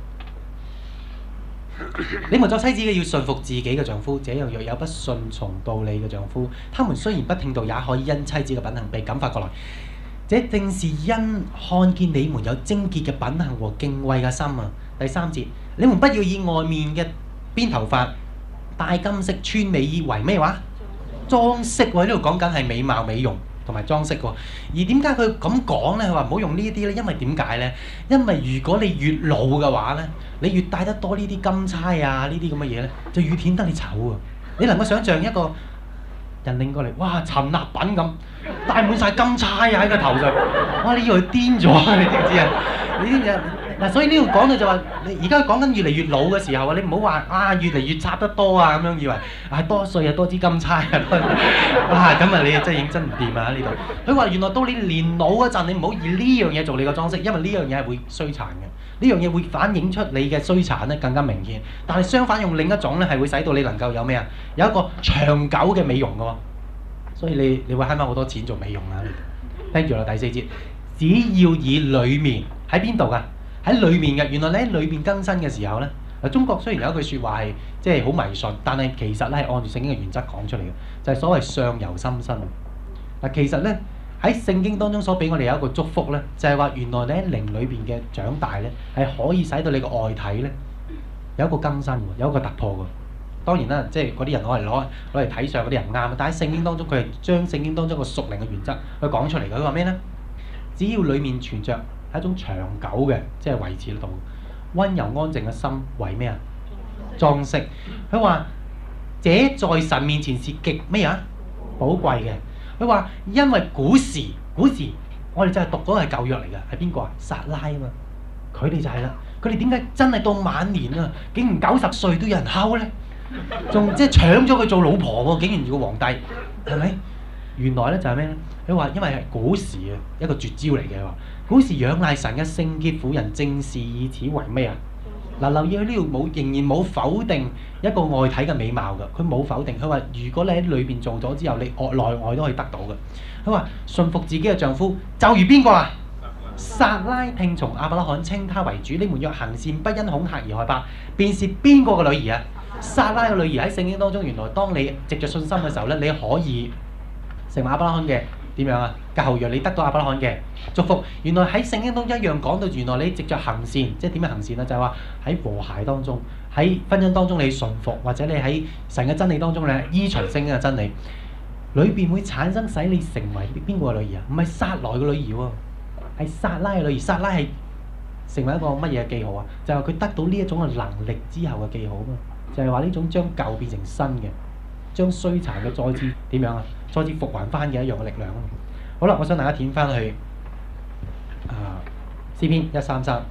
你們作妻子嘅要順服自己嘅丈夫，這樣若有不順從道理嘅丈夫，他們雖然不聽道，也可以因妻子嘅品行被感化過來。這正是因看見你們有貞潔嘅品行和敬畏嘅心啊！第三節，你們不要以外面嘅編頭髮、戴金飾、穿美衣為咩話？裝飾喎，呢度講緊係美貌、美容同埋裝飾喎。而點解佢咁講呢？佢話唔好用呢啲呢，因為點解呢？因為如果你越老嘅話呢，你越戴得多呢啲金釵啊，呢啲咁嘅嘢呢，就越顯得你醜啊！你能夠想像一個人拎過嚟，哇，陳立品咁，戴滿晒金釵啊喺個頭上，哇！你以為佢癲咗啊？你知唔知啊？你知唔知啊？嗱，所以呢度講到就話，你而家講緊越嚟越老嘅時候啊，你唔好話啊越嚟越插得多啊咁樣，以為啊多歲啊多支金釵啊，哇咁啊你真係認真唔掂啊呢度。佢話原來到你年老嗰陣，你唔好以呢樣嘢做你個裝飾，因為呢樣嘢係會衰殘嘅，呢樣嘢會反映出你嘅衰殘咧更加明顯。但係相反用另一種咧係會使到你能夠有咩啊？有一個長久嘅美容嘅喎。所以你你會慳翻好多錢做美容啊！聽住啦，第四節，只要以裏面喺邊度㗎？喺裏面嘅，原來你喺裏面更新嘅時候咧，嗱中國雖然有一句説話係即係好迷信，但係其實咧係按住聖經嘅原則講出嚟嘅，就係、是、所謂相由心生。嗱其實咧喺聖經當中所俾我哋有一個祝福咧，就係、是、話原來你喺靈裏邊嘅長大咧，係可以使到你個外體咧有一個更新喎，有一個突破喎。當然啦，即係嗰啲人攞嚟攞攞嚟睇相嗰啲人唔啱，但喺聖經當中佢係將聖經當中個屬靈嘅原則去講出嚟嘅。佢話咩咧？只要裡面存着係一種長久嘅，即係維持得到温柔安靜嘅心，為咩啊？裝飾。佢話這在神面前是極咩啊？寶貴嘅。佢話因為古時古時我哋就係讀嗰個係舊約嚟嘅，係邊個啊？撒拉啊嘛，佢哋就係啦。佢哋點解真係到晚年啊，竟然九十歲都有人溝咧？仲即係搶咗佢做老婆喎，竟然做個皇帝，係咪？原來咧就係咩咧？佢話因為係古時啊一個絕招嚟嘅話，古時仰賴神嘅聖潔婦人，正是以此為咩啊？嗱，留意佢呢度冇仍然冇否定一個外體嘅美貌㗎，佢冇否定。佢話如果你喺裏邊做咗之後，你外內外都可以得到嘅。佢話順服自己嘅丈夫，就如邊個啊？撒拉聽從亞伯拉罕，稱他為主。你們若行善，不因恐嚇而害怕，便是邊個嘅女兒啊？撒拉嘅女兒喺聖經當中，原來當你藉着信心嘅時候咧，你可以成為亞伯拉罕嘅點樣啊？嘅後裔，你得到亞伯拉罕嘅祝福。原來喺聖經中一樣講到，原來你藉着行善，即係點樣行善啊？就係話喺和諧當中，喺婚姻當中你順服，或者你喺神嘅真理當中你依循聖經嘅真理，裏邊會產生使你成為邊個嘅女兒啊？唔係撒萊嘅女兒喎，係撒拉嘅女兒。撒拉係成為一個乜嘢嘅記號啊？就係話佢得到呢一種嘅能力之後嘅記號啊嘛。就係話呢種將舊變成新嘅，將衰殘嘅再次點樣啊？再次復還翻嘅一樣嘅力量啊！好啦，我想大家點翻去啊詩篇一三三。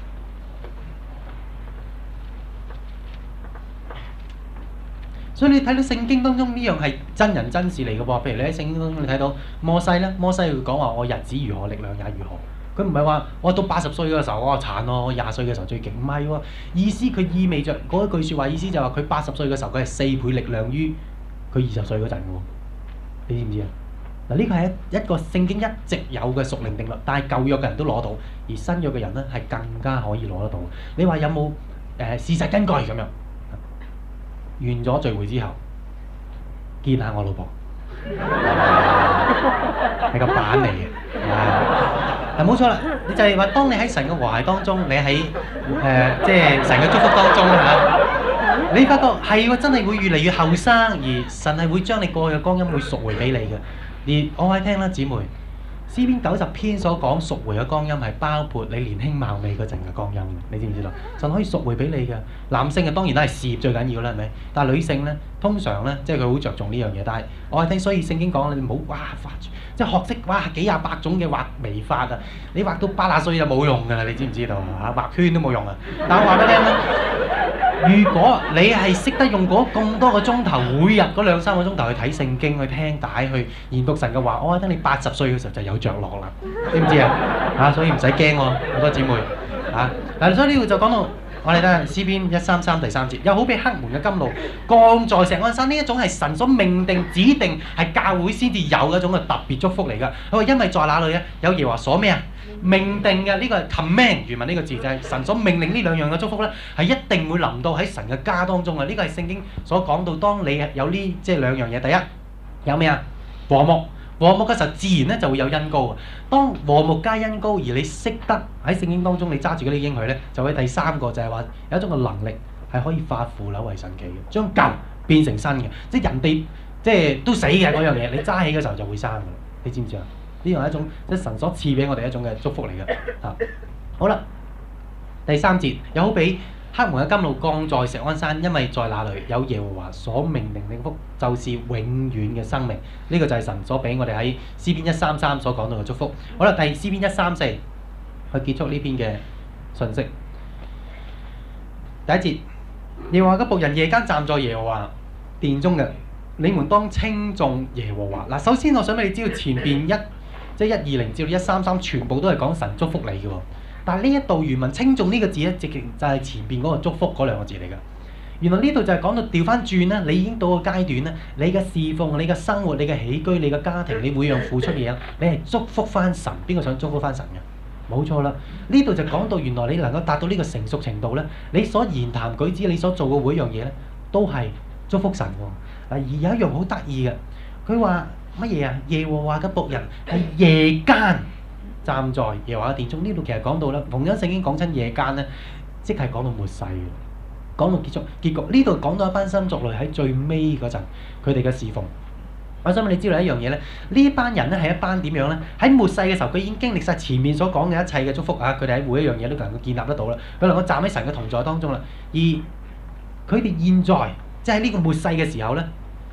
所以你睇到聖經當中呢樣係真人真事嚟嘅噃。譬如你喺聖經當中你睇到摩西咧，摩西會講話我日子如何，力量也如何。佢唔係話我到八十歲嘅時候我殘咯，我廿歲嘅時候最勁，唔係喎。意思佢意味着嗰一句説話，意思就係話佢八十歲嘅時候佢係四倍力量於佢二十歲嗰陣嘅喎。你知唔知啊？嗱，呢個係一一個聖經一直有嘅屬靈定律，但係舊約嘅人都攞到，而新約嘅人咧係更加可以攞得到。你話有冇誒、呃、事實根據咁樣？完咗聚會之後，見下我老婆，係個板嚟嘅。嗱，冇錯啦，你就係話，當你喺神嘅和諧當中，你喺誒、呃、即係神嘅祝福當中嚇、啊，你發覺係喎，真係會越嚟越後生，而神係會將你過去嘅光陰會贖回俾你嘅。而我喺聽啦，姊妹， 詩篇九十篇所講贖回嘅光陰係包括你年輕貌美嗰陣嘅光陰，你知唔知道？神可以贖回俾你嘅。男性嘅當然都係事業最緊要啦，係咪？但係女性咧，通常咧，即係佢好着重呢樣嘢。但係我係聽，所以聖經講你唔好哇畫，即係學識哇幾廿百種嘅畫眉法啊！你畫到八廿歲就冇用㗎啦，你知唔知道啊？畫圈都冇用啊！但我話俾你聽咧，如果你係識得用嗰咁多個鐘頭，每日嗰兩三個鐘頭去睇聖經、去聽帶、去研讀神嘅話，我話聽你八十歲嘅時候就有着落啦，知唔知啊？啊，所以唔使驚喎，好多姊妹啊！嗱，所以呢度就講到我哋睇詩篇一三三第三節，又好比黑門嘅甘露降在錫安山，呢一種係神所命定、指定係教會先至有嘅一種嘅特別祝福嚟㗎。佢話因為在那裏咧有耶和華所咩啊？命定嘅呢個係 command，原文呢個字就係神所命令呢兩樣嘅祝福咧，係一定會臨到喺神嘅家當中啊！呢個係聖經所講到，當你有呢即係兩樣嘢，第一有咩啊？和睦。和睦嘅時候，自然咧就會有恩膏啊！當和睦加恩膏，而你識得喺聖經當中你揸住嗰啲應許咧，就會第三個就係話有一種嘅能力係可以化腐朽為神奇嘅，將舊變成新嘅，即係人哋即係都死嘅嗰樣嘢，你揸起嘅時候就會生嘅啦！你知唔知啊？呢樣係一種即係神所賜俾我哋一種嘅祝福嚟嘅嚇。好啦，第三節又好比黑門嘅甘露降在錫安山，因為在那裏有耶和華所命令的福，就是永遠嘅生命。呢、這個就係神所俾我哋喺詩篇一三三所講到嘅祝福。好啦，第詩篇一三四去結束呢篇嘅信息。第一節，耶和華嘅僕人夜間站在耶和華殿中嘅，你們當稱頌耶和華。嗱，首先我想俾你知道前邊一即係一二零至到一三三全部都係講神祝福你嘅喎。但係呢一度原文稱頌呢個字咧，直情就係前邊嗰個祝福嗰兩個字嚟㗎。原來呢度就係講到調翻轉啦，你已經到個階段咧，你嘅侍奉、你嘅生活、你嘅起居、你嘅家庭，你每樣付出嘢，你係祝福翻神。邊個想祝福翻神嘅？冇錯啦。呢度就講到原來你能夠達到呢個成熟程度咧，你所言談舉止、你所做嘅每一樣嘢咧，都係祝福神喎。嗱，而有一樣好得意嘅，佢話乜嘢啊？耶和華嘅僕人係夜間站在耶和華嘅殿中，呢度其實講到啦，同樣聖經講親夜間咧，即係講到末世嘅，講到結束結局。呢度講到一班新族類喺最尾嗰陣，佢哋嘅侍奉。我想問你知道一樣嘢咧，呢一班人咧係一班點樣咧？喺末世嘅時候，佢已經經歷晒前面所講嘅一切嘅祝福啊！佢哋喺每一樣嘢都能夠建立得到啦，佢能夠站喺神嘅同在當中啦。而佢哋現在即係呢個末世嘅時候咧，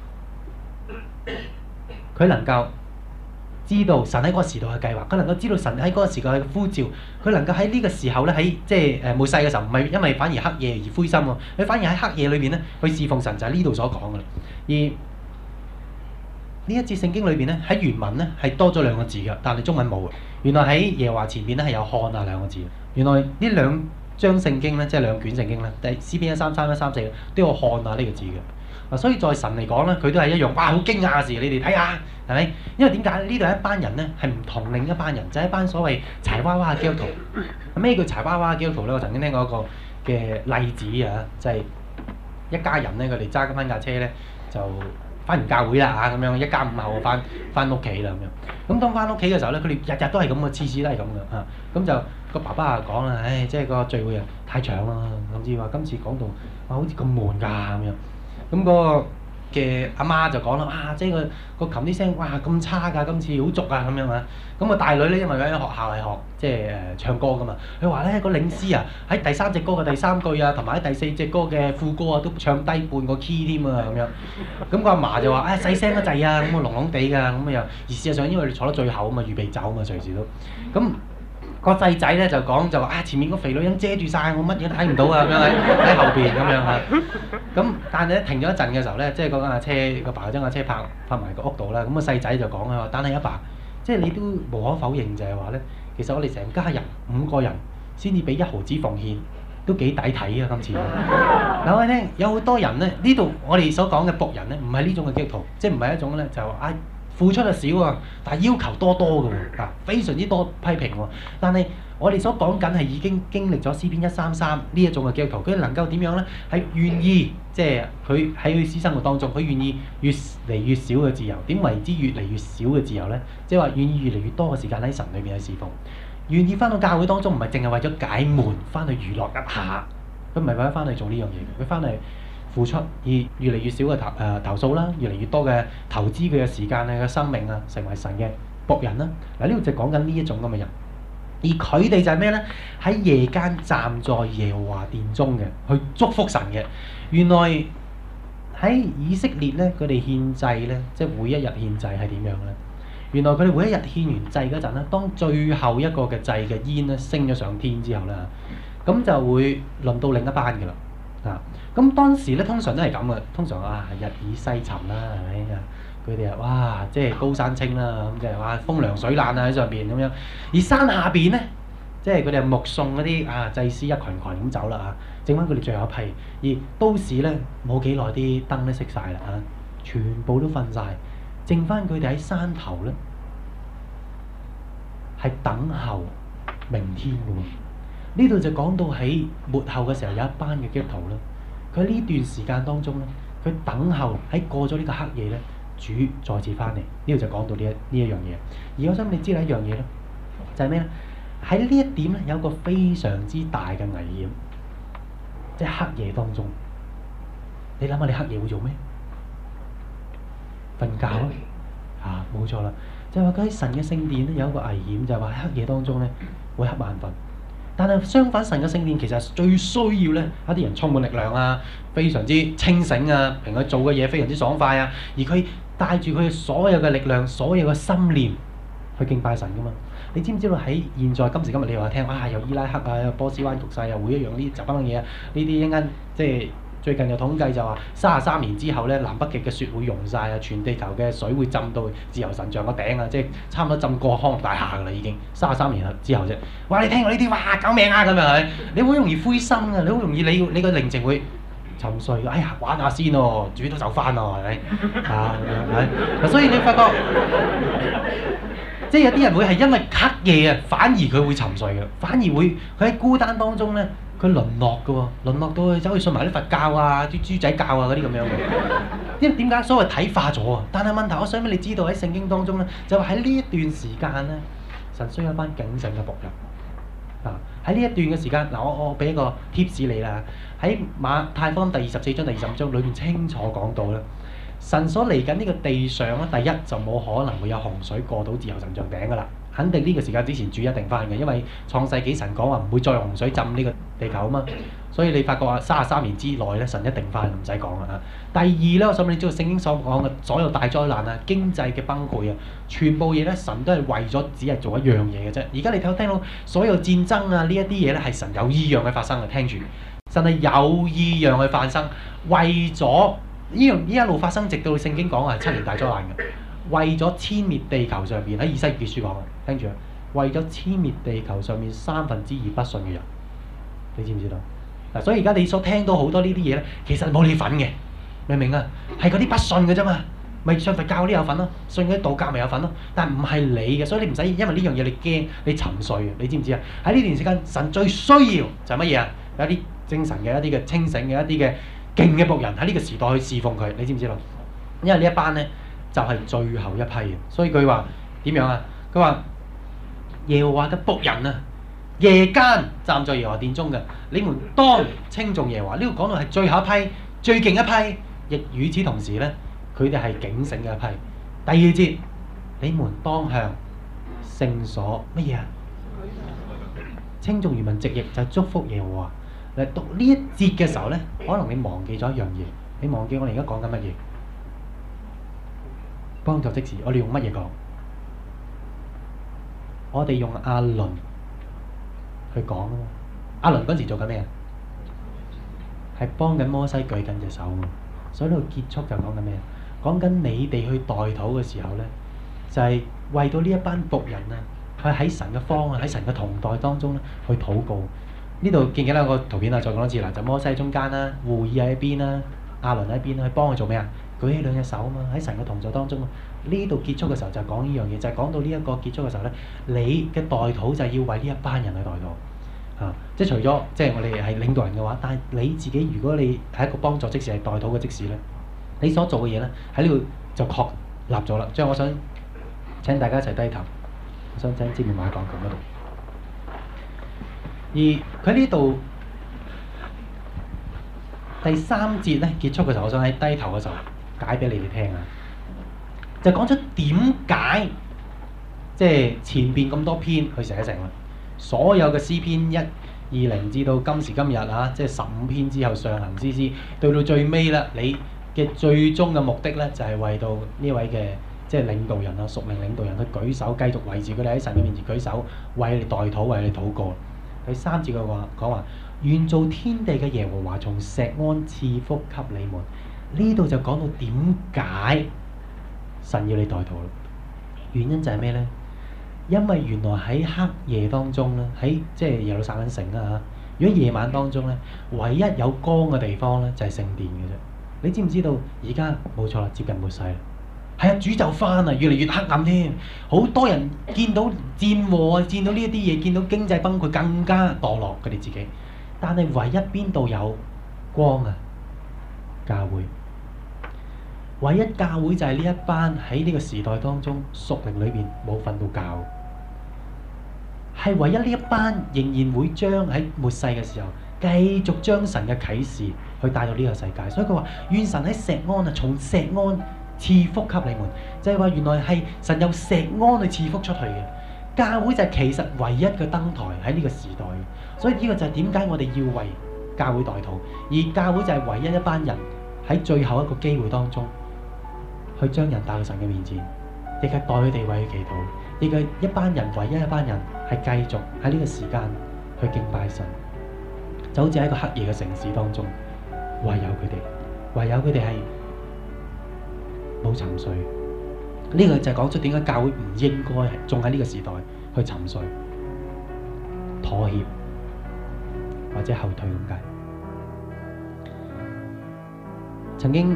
佢能夠知道神喺嗰個時代嘅計劃，佢能夠知道神喺嗰個時代嘅呼召，佢能夠喺呢個時候咧，喺即係誒末世嘅時候，唔係因為反而黑夜而灰心喎，佢反而喺黑夜裏邊咧去侍奉神，就係呢度所講嘅啦。而呢一節聖經裏邊咧，喺原文咧係多咗兩個字嘅，但係中文冇嘅。原來喺耶和華前邊咧係有看啊兩個字。原來呢兩章聖經咧，即係兩卷聖經咧，第詩篇一三三一三四都有看啊呢個字嘅。嗱，所以在神嚟講咧，佢都係一樣，哇！好驚訝嘅事，你哋睇下，係咪？因為點解呢度一班人咧係唔同另一班人，就係一班所謂柴娃娃嘅基督徒。咩叫柴娃娃嘅基督徒咧？我曾經聽過一個嘅例子啊，就係一家人咧，佢哋揸緊翻架車咧，就翻完教會啦嚇，咁樣一家五口翻翻屋企啦咁樣。咁當翻屋企嘅時候咧，佢哋日日都係咁嘅，次次都係咁嘅嚇。咁就個爸爸啊講啦，唉，即係個聚會啊太長啦，甚至話今次講到哇好似咁悶㗎咁樣。咁嗰個嘅阿媽就講啦，啊，即係個個琴啲聲，哇咁差㗎，今次好足啊咁樣啊。咁個大女咧，因為佢喺學校係學即係誒唱歌㗎嘛，佢話咧個領詩啊喺第三隻歌嘅第三句啊，同埋喺第四隻歌嘅副歌啊，都唱低半個 key 添啊咁樣。咁個阿嫲就話：唉細聲得滯啊，咁啊聾聾地㗎，咁啊又而事實上因為你坐得最後啊嘛，預備走啊嘛，隨時都咁。個細仔咧就講就話啊，前面個肥女人遮住晒，我乜嘢都睇唔到啊咁樣喺喺後邊咁樣嚇。咁但係咧停咗一陣嘅時候咧，即係嗰架車個爸將架車泊泊埋個屋度啦。咁個細仔就講啊，但係阿爸，即係你都無可否認就係話咧，其實我哋成家人五個人先至俾一毫子奉獻，都幾抵睇啊今次。嗱我哋聽有好多人咧，呢度我哋所講嘅僕人咧，唔係呢種嘅基督徒，即係唔係一種咧就話啊。付出就少啊，但係要求多多嘅喎，啊非常之多批評喎。但係我哋所講緊係已經經歷咗詩篇一三三呢一種嘅基督徒，佢能夠點樣咧？係願意即係佢喺佢私生活當中，佢願意越嚟越少嘅自由。點為之越嚟越少嘅自由咧？即係話願意越嚟越多嘅時間喺神裏邊去侍奉，願意翻到教會當中，唔係淨係為咗解悶，翻去娛樂一下，佢唔係為咗翻去做呢樣嘢，佢翻嚟付出，而越嚟越少嘅投誒、呃、投訴啦，越嚟越多嘅投資佢嘅時間啊、嘅生命啊，成為神嘅僕人啦。嗱，呢度就講緊呢一種咁嘅人，而佢哋就係咩呢？喺夜間站在耶和華殿中嘅，去祝福神嘅。原來喺以色列咧，佢哋獻祭咧，即係每一日獻祭係點樣咧？原來佢哋每一日獻完祭嗰陣咧，當最後一個嘅祭嘅煙咧升咗上天之後咧，咁就會輪到另一班嘅啦。啊，咁當時咧通常都係咁嘅，通常啊日以西沉啦，係咪啊？佢哋啊，哇，即係高山青啦，咁即係話風涼水冷啊喺上邊咁樣，而山下邊咧。即係佢哋目送嗰啲啊祭司一群群咁走啦嚇，剩翻佢哋最後一批。而都市咧冇幾耐啲燈都熄晒啦嚇，全部都瞓晒，剩翻佢哋喺山頭咧係等候明天嘅喎。呢度就講到喺末後嘅時候有一班嘅基督徒咧，佢喺呢段時間當中咧，佢等候喺過咗呢個黑夜咧，主再次翻嚟。呢度就講到呢一呢一樣嘢。而我想你知道一樣嘢咧，就係咩咧？喺呢一點咧，有一個非常之大嘅危險，即係黑夜當中。你諗下，你黑夜會做咩？瞓覺咯，啊，冇錯啦。就係話佢喺神嘅聖殿咧有一個危險，就係話喺黑夜當中咧會瞌眼瞓。但係相反，神嘅聖殿其實最需要咧一啲人充滿力量啊，非常之清醒啊，平佢做嘅嘢非常之爽快啊，而佢帶住佢所有嘅力量、所有嘅心念去敬拜神噶嘛。你知唔知道喺現在今時今日你話聽啊，有伊拉克啊，有波斯灣局勢啊，每一樣呢雜班嘅嘢啊，呢啲一間即係最近有統計就話三十三年之後咧，南北極嘅雪會融晒啊，全地球嘅水會浸到自由神像個頂啊，即係差唔多浸過康樂大廈㗎啦已經，三十三年之後啫。哇！你聽過呢啲哇救命啊咁樣係，你好容易灰心啊，你好容易你你個靈情會沉睡。哎呀玩下先喎，主都走翻咯係咪？啊係，所以你發覺。即係有啲人會係因為黑夜啊，反而佢會沉睡嘅，反而會佢喺孤單當中咧，佢淪落嘅喎，淪落到去走去信埋啲佛教啊、啲豬仔教啊嗰啲咁樣嘅。因為點解所謂睇化咗啊？但係問題，我想俾你知道喺聖經當中咧，就話喺呢一段時間咧，神需要一班警醒嘅僕人。啊，喺呢一段嘅時間，嗱我我俾一個 tips 你啦，喺馬太福音第二十四章、第二十五章裏面清楚講到啦。神所嚟緊呢個地上咧，第一就冇可能會有洪水過到自由神像頂噶啦，肯定呢個時間之前主一定翻嘅，因為創世紀神講話唔會再用洪水浸呢個地球啊嘛，所以你發覺啊，三十三年之內咧，神一定翻，唔使講啦嚇。第二咧，我想俾你知道聖經所講嘅所有大災難啊、經濟嘅崩潰啊，全部嘢咧，神都係為咗只係做一樣嘢嘅啫。而家你睇聽到所有戰爭啊呢一啲嘢咧，係神有意讓佢發生嘅，聽住，神係有意讓佢發生，為咗。呢樣呢一路發生，直到聖經講係七年大災難嘅，為咗殲滅地球上邊喺以西結書講嘅，聽住啊，為咗殲滅地球上面三分之二不信嘅人，你知唔知道？嗱，所以而家你所聽到好多呢啲嘢咧，其實冇你份嘅，明唔明啊？係嗰啲不信嘅啫嘛，咪信佛教嗰啲有份咯，信嗰啲道教咪有份咯，但唔係你嘅，所以你唔使因為呢樣嘢你驚你沉睡嘅，你知唔知啊？喺呢段時間，神最需要就係乜嘢啊？有一啲精神嘅、一啲嘅清醒嘅、一啲嘅。勁嘅僕人喺呢個時代去侍奉佢，你知唔知道？因為呢一班咧就係、是、最後一批嘅，所以佢話點樣啊？佢話耶和華嘅僕人啊，夜間站在耶和華殿中嘅，你們當稱頌耶和華。呢度講到係最後一批、最勁一批，亦與此同時咧，佢哋係警醒嘅一批。第二節，你們當向聖所乜嘢啊？稱頌原文直譯就係祝福耶和華。嚟讀呢一節嘅時候咧，可能你忘記咗一樣嘢，你忘記我哋而家講緊乜嘢？幫助即時，我哋用乜嘢講？我哋用亞倫去講啊嘛。亞倫嗰陣時做緊咩啊？係幫緊摩西舉緊隻手啊。所以呢度結束就講緊咩啊？講緊你哋去代禱嘅時候咧，就係、是、為到呢一班僕人啊，去喺神嘅方啊，喺神嘅同代當中咧去禱告。呢度記唔記得有個圖片啊？再講多次啦，就摩西喺中間啦，戶珥喺邊啦，亞倫喺邊啦，去幫佢做咩啊？舉起兩隻手啊嘛，喺神嘅同在當中啊。呢度結束嘅時候就係講呢樣嘢，就係、是、講到呢一個結束嘅時候咧，你嘅代禱就係要為呢一班人去代禱啊！即係除咗即係我哋係領導人嘅話，但係你自己如果你係一個幫助即時係代禱嘅即時咧，你所做嘅嘢咧喺呢度就確立咗啦。所以我想請大家一齊低頭，我想請支面馬講講嗰度。而佢呢度第三節咧結束嘅時候，我想喺低頭嘅時候解俾你哋聽啊，就講出點解即係前邊咁多篇去寫成啦。所有嘅詩篇一二零至到今時今日啊，即係十五篇之後上行詩詩，到到最尾啦，你嘅最終嘅目的咧就係、是、為到呢位嘅即係領導人啊、屬靈領導人去舉手，繼續維持佢哋喺神嘅面前舉手，為你代禱，為你禱告。第三節嘅話講話，願造天地嘅耶和華從錫安賜福給你們。呢度就講到點解神要你代禱啦？原因就係咩呢？因為原來喺黑夜當中咧，喺即係耶路撒冷城啦嚇。如果夜晚當中咧，唯一有光嘅地方咧就係聖殿嘅啫。你知唔知道？而家冇錯啦，接近末世啦。係啊，主就翻啊，越嚟越黑暗添。好多人見到戰禍啊，見到呢一啲嘢，見到經濟崩潰，更加墮落佢哋自己。但係唯一邊度有光啊？教會。唯一教會就係呢一班喺呢個時代當中屬靈裏邊冇瞓到覺，係唯一呢一班仍然會將喺末世嘅時候繼續將神嘅啟示去帶到呢個世界。所以佢話願神喺錫安啊，從錫安賜福給你們，就係話原來係神有錫安去賜福出去嘅。教會就係其實唯一嘅燈台喺呢個時代，所以呢個就係點解我哋要為教會代禱，而教會就係唯一一班人喺最後一個機會當中去將人帶到神嘅面前，亦係代佢哋為佢祈禱，亦係一班人唯一一班人係繼續喺呢個時間去敬拜神，就好似喺一個黑夜嘅城市當中，唯有佢哋，唯有佢哋係冇沉睡。呢個就係講出點解教會唔應該仲喺呢個時代去沉睡、妥協或者後退咁解。曾經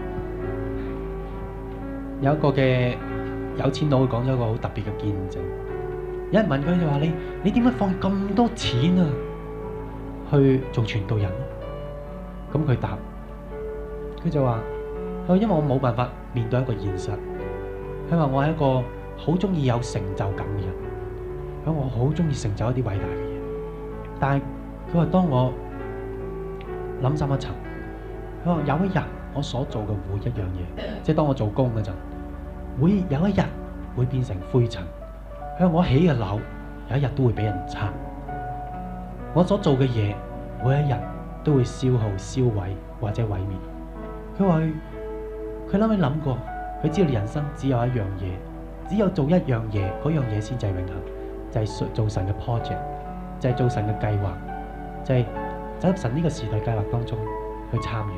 有一個嘅有錢佬講咗一個好特別嘅見證。有人問佢就話：你你點解放咁多錢啊去做傳道人？咁佢答：佢就話：佢因為我冇辦法面對一個現實。佢話我係一個好中意有成就感嘅人，佢話我好中意成就一啲偉大嘅嘢。但係佢話當我諗深一層，佢話有一日我所做嘅每一樣嘢，即係當我做工嗰陣，會有一日會變成灰塵。佢話我起嘅樓有一日都會俾人拆，我所做嘅嘢每一日都會消耗、燒毀或者毀滅。佢話佢諗起諗過。佢知道人生只有一樣嘢，只有做一樣嘢，嗰樣嘢先至係永恆，就係、是、做神嘅 project，就係做神嘅計劃，就係、是、走入神呢個時代計劃當中去參與。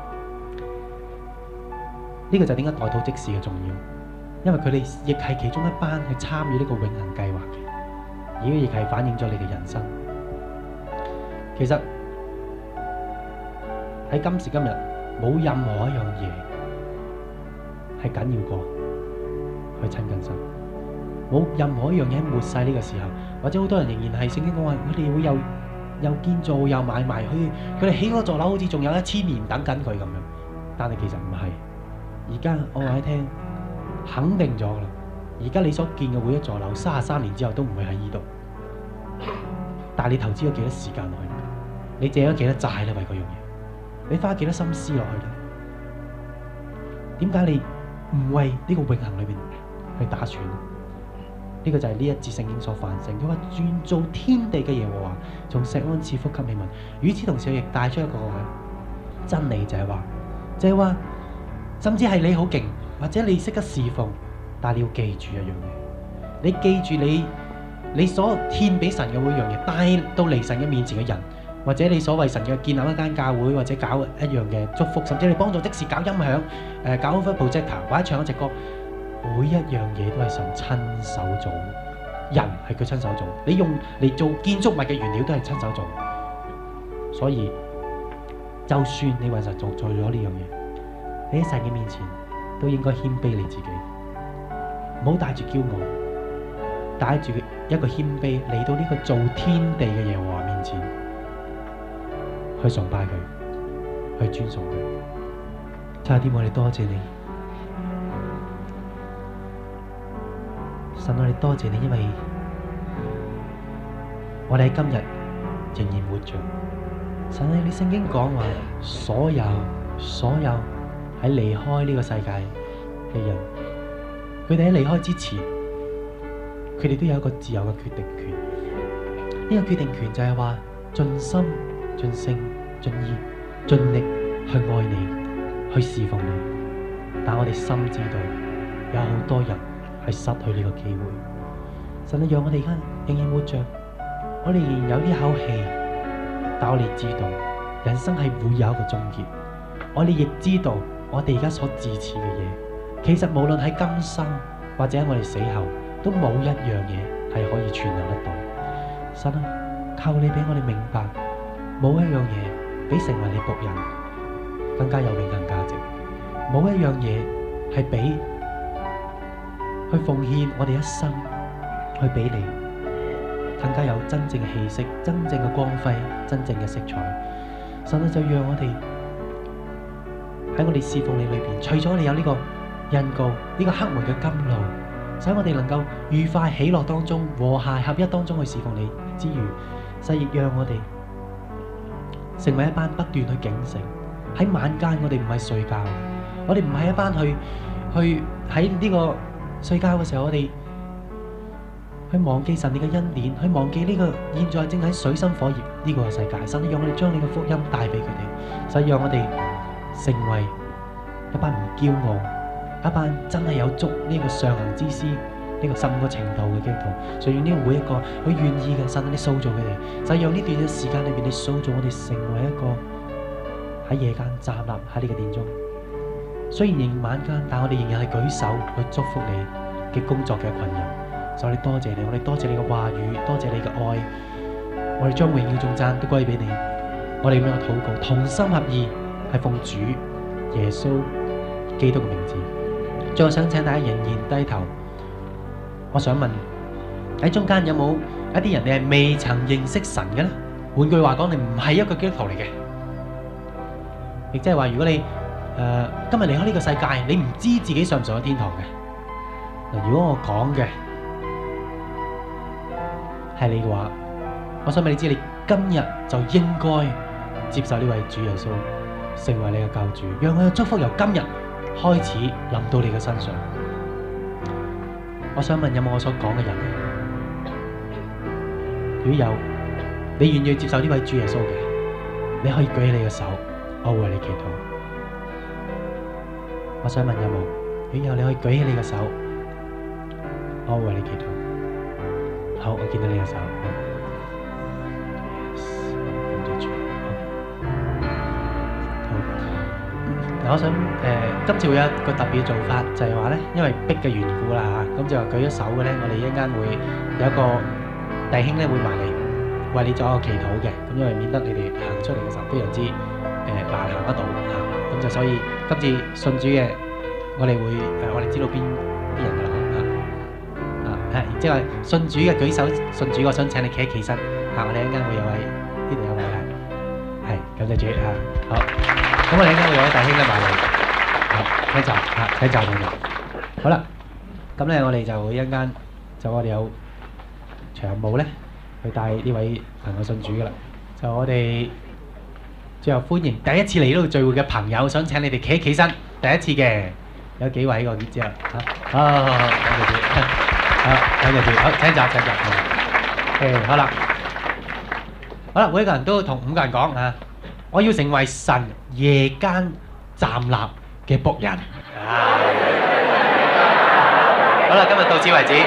呢、這個就係點解代禱職事嘅重要，因為佢哋亦係其中一班去參與呢個永恆計劃嘅，而亦係反映咗你嘅人生。其實喺今時今日，冇任何一樣嘢係緊要過去親近神，冇任何一樣嘢喺末世呢個時候，或者好多人仍然係聖經講話，佢哋會有又建造又買賣，佢佢哋起嗰座樓好似仲有一千年等緊佢咁樣，但係其實唔係。而家我話你聽，肯定咗啦。而家你所見嘅每一座樓，三十三年之後都唔會喺呢度。但係你投資咗幾多時間落去？你借咗幾多債咧？為嗰樣嘢，你花幾多心思落去咧？點解你唔為呢個永恆裏邊去打算？呢個就係呢一節聖經所反省。佢話願造天地嘅耶和華從錫安賜福給你們。與此同時，亦帶出一個真理，就係話，就係話，甚至係你好勁，或者你識得侍奉，但係你要記住一樣嘢，你記住你你所獻俾神嘅每樣嘢，帶到離神嘅面前嘅人，或者你所謂神嘅建立一間教會，或者搞一樣嘅祝福，甚至你幫助即時搞音響，誒搞一個 projector，或者唱一隻歌，每一樣嘢都係神親手做，人係佢親手做，你用嚟做建築物嘅原料都係親手做，所以就算你為神做做咗呢樣嘢，你喺神嘅面前都應該謙卑你自己，唔好帶住驕傲，帶住一個謙卑嚟到呢個造天地嘅耶和華面前，去崇拜佢，去尊崇佢。差啲我哋多謝你，神，我哋多謝你，因為我哋喺今日仍然活着。神啊，你聖經講話，所有所有喺離開呢個世界嘅人，佢哋喺離開之前， 佢哋都有一個自由嘅決定權。呢個決定權就係話盡心、盡性、盡意、盡力去愛你，去侍奉你。但我哋深知道有好多人係失去呢個機會。神啊，讓我哋而家仍然活着，我哋仍然有呢口氣，但我哋知道人生係會有一個終結。我哋亦知道我哋而家所自持嘅嘢，其實無論喺今生或者喺我哋死後，都冇一樣嘢係可以存留得到。神啊，靠你俾我哋明白，冇一樣嘢比成為你僕人更加有永恆價值，冇一樣嘢係比去奉獻我哋一生去俾你更加有真正嘅氣息、真正嘅光輝、真正嘅色彩。神啊，就讓我哋喺我哋侍奉你裏邊，除咗你有呢個印告、呢個黑門嘅甘露，使我哋能夠愉快喜樂當中、和諧合一當中去侍奉你之餘，使亦讓我哋成為一班不斷去警醒。喺晚間我哋唔係睡覺，我哋唔係一班去去喺呢個睡覺嘅時候，我哋去忘記神你嘅恩典，去忘記呢個現在正喺水深火熱呢個世界。神，讓我哋將你嘅福音帶俾佢哋，使讓我哋成為一班唔驕傲、一班真係有足呢個上行之師、呢個十五個程度嘅基督徒。所以用呢個每一個佢願意嘅，神你塑造佢哋，就讓呢段嘅時間裏邊，你塑造我哋成為一個喺夜間站立喺呢個殿中。雖然仍晚間，但我哋仍然係舉手去祝福你嘅工作嘅群人。所以我哋多謝你，我哋多謝你嘅話語，多謝你嘅愛，我哋將榮耀頌讚都歸俾你。我哋咁樣嘅禱告，同心合意，係奉主耶穌基督嘅名字。最後想請大家仍然低頭。我想問喺中間有冇一啲人你係未曾認識神嘅咧？換句話講，你唔係一個基督徒嚟嘅，亦即係話，如果你誒、呃、今日離開呢個世界，你唔知自己上唔上咗天堂嘅。嗱，如果我講嘅係你嘅話，我想俾你知，你今日就應該接受呢位主耶穌成為你嘅救主，讓佢嘅祝福由今日開始臨到你嘅身上。我想問有冇我所講嘅人？如果有，你願意接受呢位主耶穌嘅，你可以舉起你嘅手，我會為你祈禱。我想問有冇？如果有，你可以舉起你嘅手，我會為你祈禱。好，我見到你嘅手。好，我想誒、呃，今次會有一個特別嘅做法，就係話咧，因為逼嘅緣故啦嚇，咁就話舉咗手嘅咧，我哋一陣間會有一個弟兄咧會埋嚟為你做一個祈禱嘅，咁因為免得你哋行出嚟嘅時候非常之誒、呃、難行得到嚇，咁就所以今次信主嘅，我哋會誒、呃、我哋知道邊啲人㗎啦嚇。係，即係信主嘅舉手，信主，我想請你企一企身。嚇，我哋一陣間會有位，呢度有位係，係，感謝主嚇。好，咁我哋一陣間會有位弟兄咧埋嚟，好，請坐嚇，請坐定定。好啦，咁咧我哋就一陣間就我哋有長務咧，去帶呢位朋友信主噶啦。就我哋最後歡迎第一次嚟呢度聚會嘅朋友，想請你哋企一企身。第一次嘅有幾位我知啊？好，好，好，感謝主。好，感謝主。好，請坐，請坐。誒，好啦，好啦，每一個人都同五個人講啊，我要成為神夜間站立嘅僕人。啊，好啦，今日到此為止。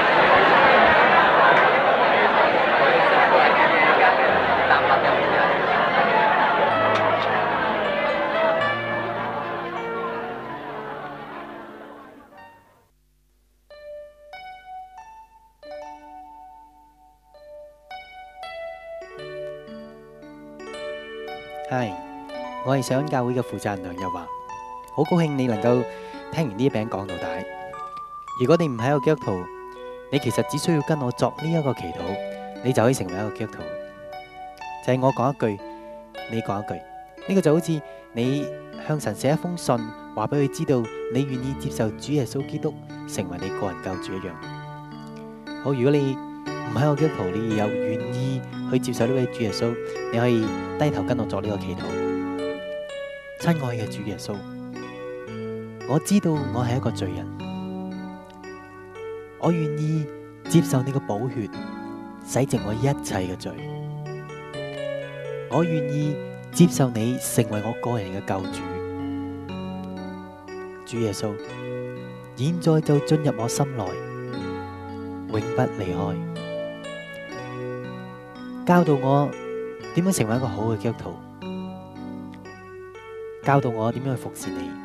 係，我係上恩教會嘅負責人梁日華，好高興你能夠聽完呢一餅講到底。如果你唔係一個基督徒，你其實只需要跟我作呢一個祈禱，你就可以成為一個基督徒。就係我講一句，你講一句，呢個就好似你向神寫一封信，話俾佢知道你願意接受主耶穌基督成為你個人救主一樣。好，如果你唔係一個基督徒，你有願意去接受呢位主耶穌，你可以低頭跟我作呢個祈禱。親愛嘅主耶穌，我知道我係一個罪人，我願意接受你嘅寶血洗淨我一切嘅罪。我願意接受你成為我個人嘅救主。主耶穌，現在就進入我心內，永不離開。教導我點樣成為一個好嘅基督徒，教導我點樣去服侍你。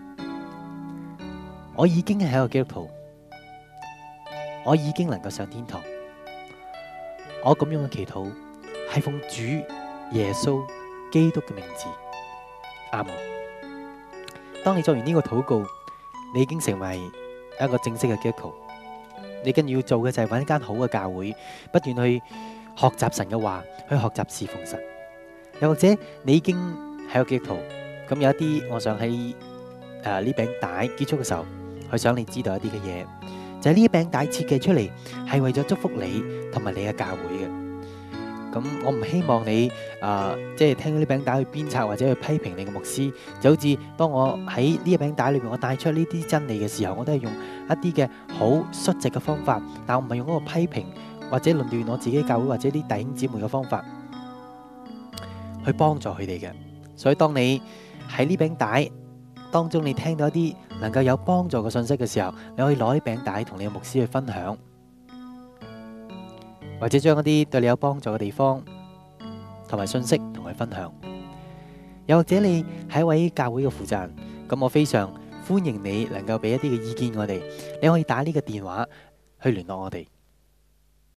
我已經係一個基督徒，我已經能夠上天堂。我咁樣嘅祈禱係奉主耶穌基督嘅名字，阿門。當你做完呢個禱告，你已經成為一個正式嘅基督徒。你跟住要做嘅就係揾一間好嘅教會，不斷去學習神嘅話，去學習侍奉神。又或者你已經係個基督徒，咁有一啲，我想喺誒呢餅帶結束嘅時候，去想你知道一啲嘅嘢，就係呢餅帶設計出嚟係為咗祝福你同埋你嘅教會嘅。咁我唔希望你啊，即係聽到呢餅帶去鞭策或者去批評你嘅牧師，就好似當我喺呢一餅帶裏邊，我帶出呢啲真理嘅時候，我都係用一啲嘅好率直嘅方法，但我唔係用嗰個批評或者論斷我自己教會或者啲弟兄姊妹嘅方法去幫助佢哋嘅。所以當你喺呢餅帶當中，你聽到一啲能夠有幫助嘅信息嘅時候，你可以攞啲餅帶同你嘅牧師去分享。或者將一啲對你有幫助嘅地方同埋信息同佢分享，又或者你係一位教會嘅負責人，咁我非常歡迎你能夠俾一啲嘅意見我哋，你可以打呢個電話去聯絡我哋。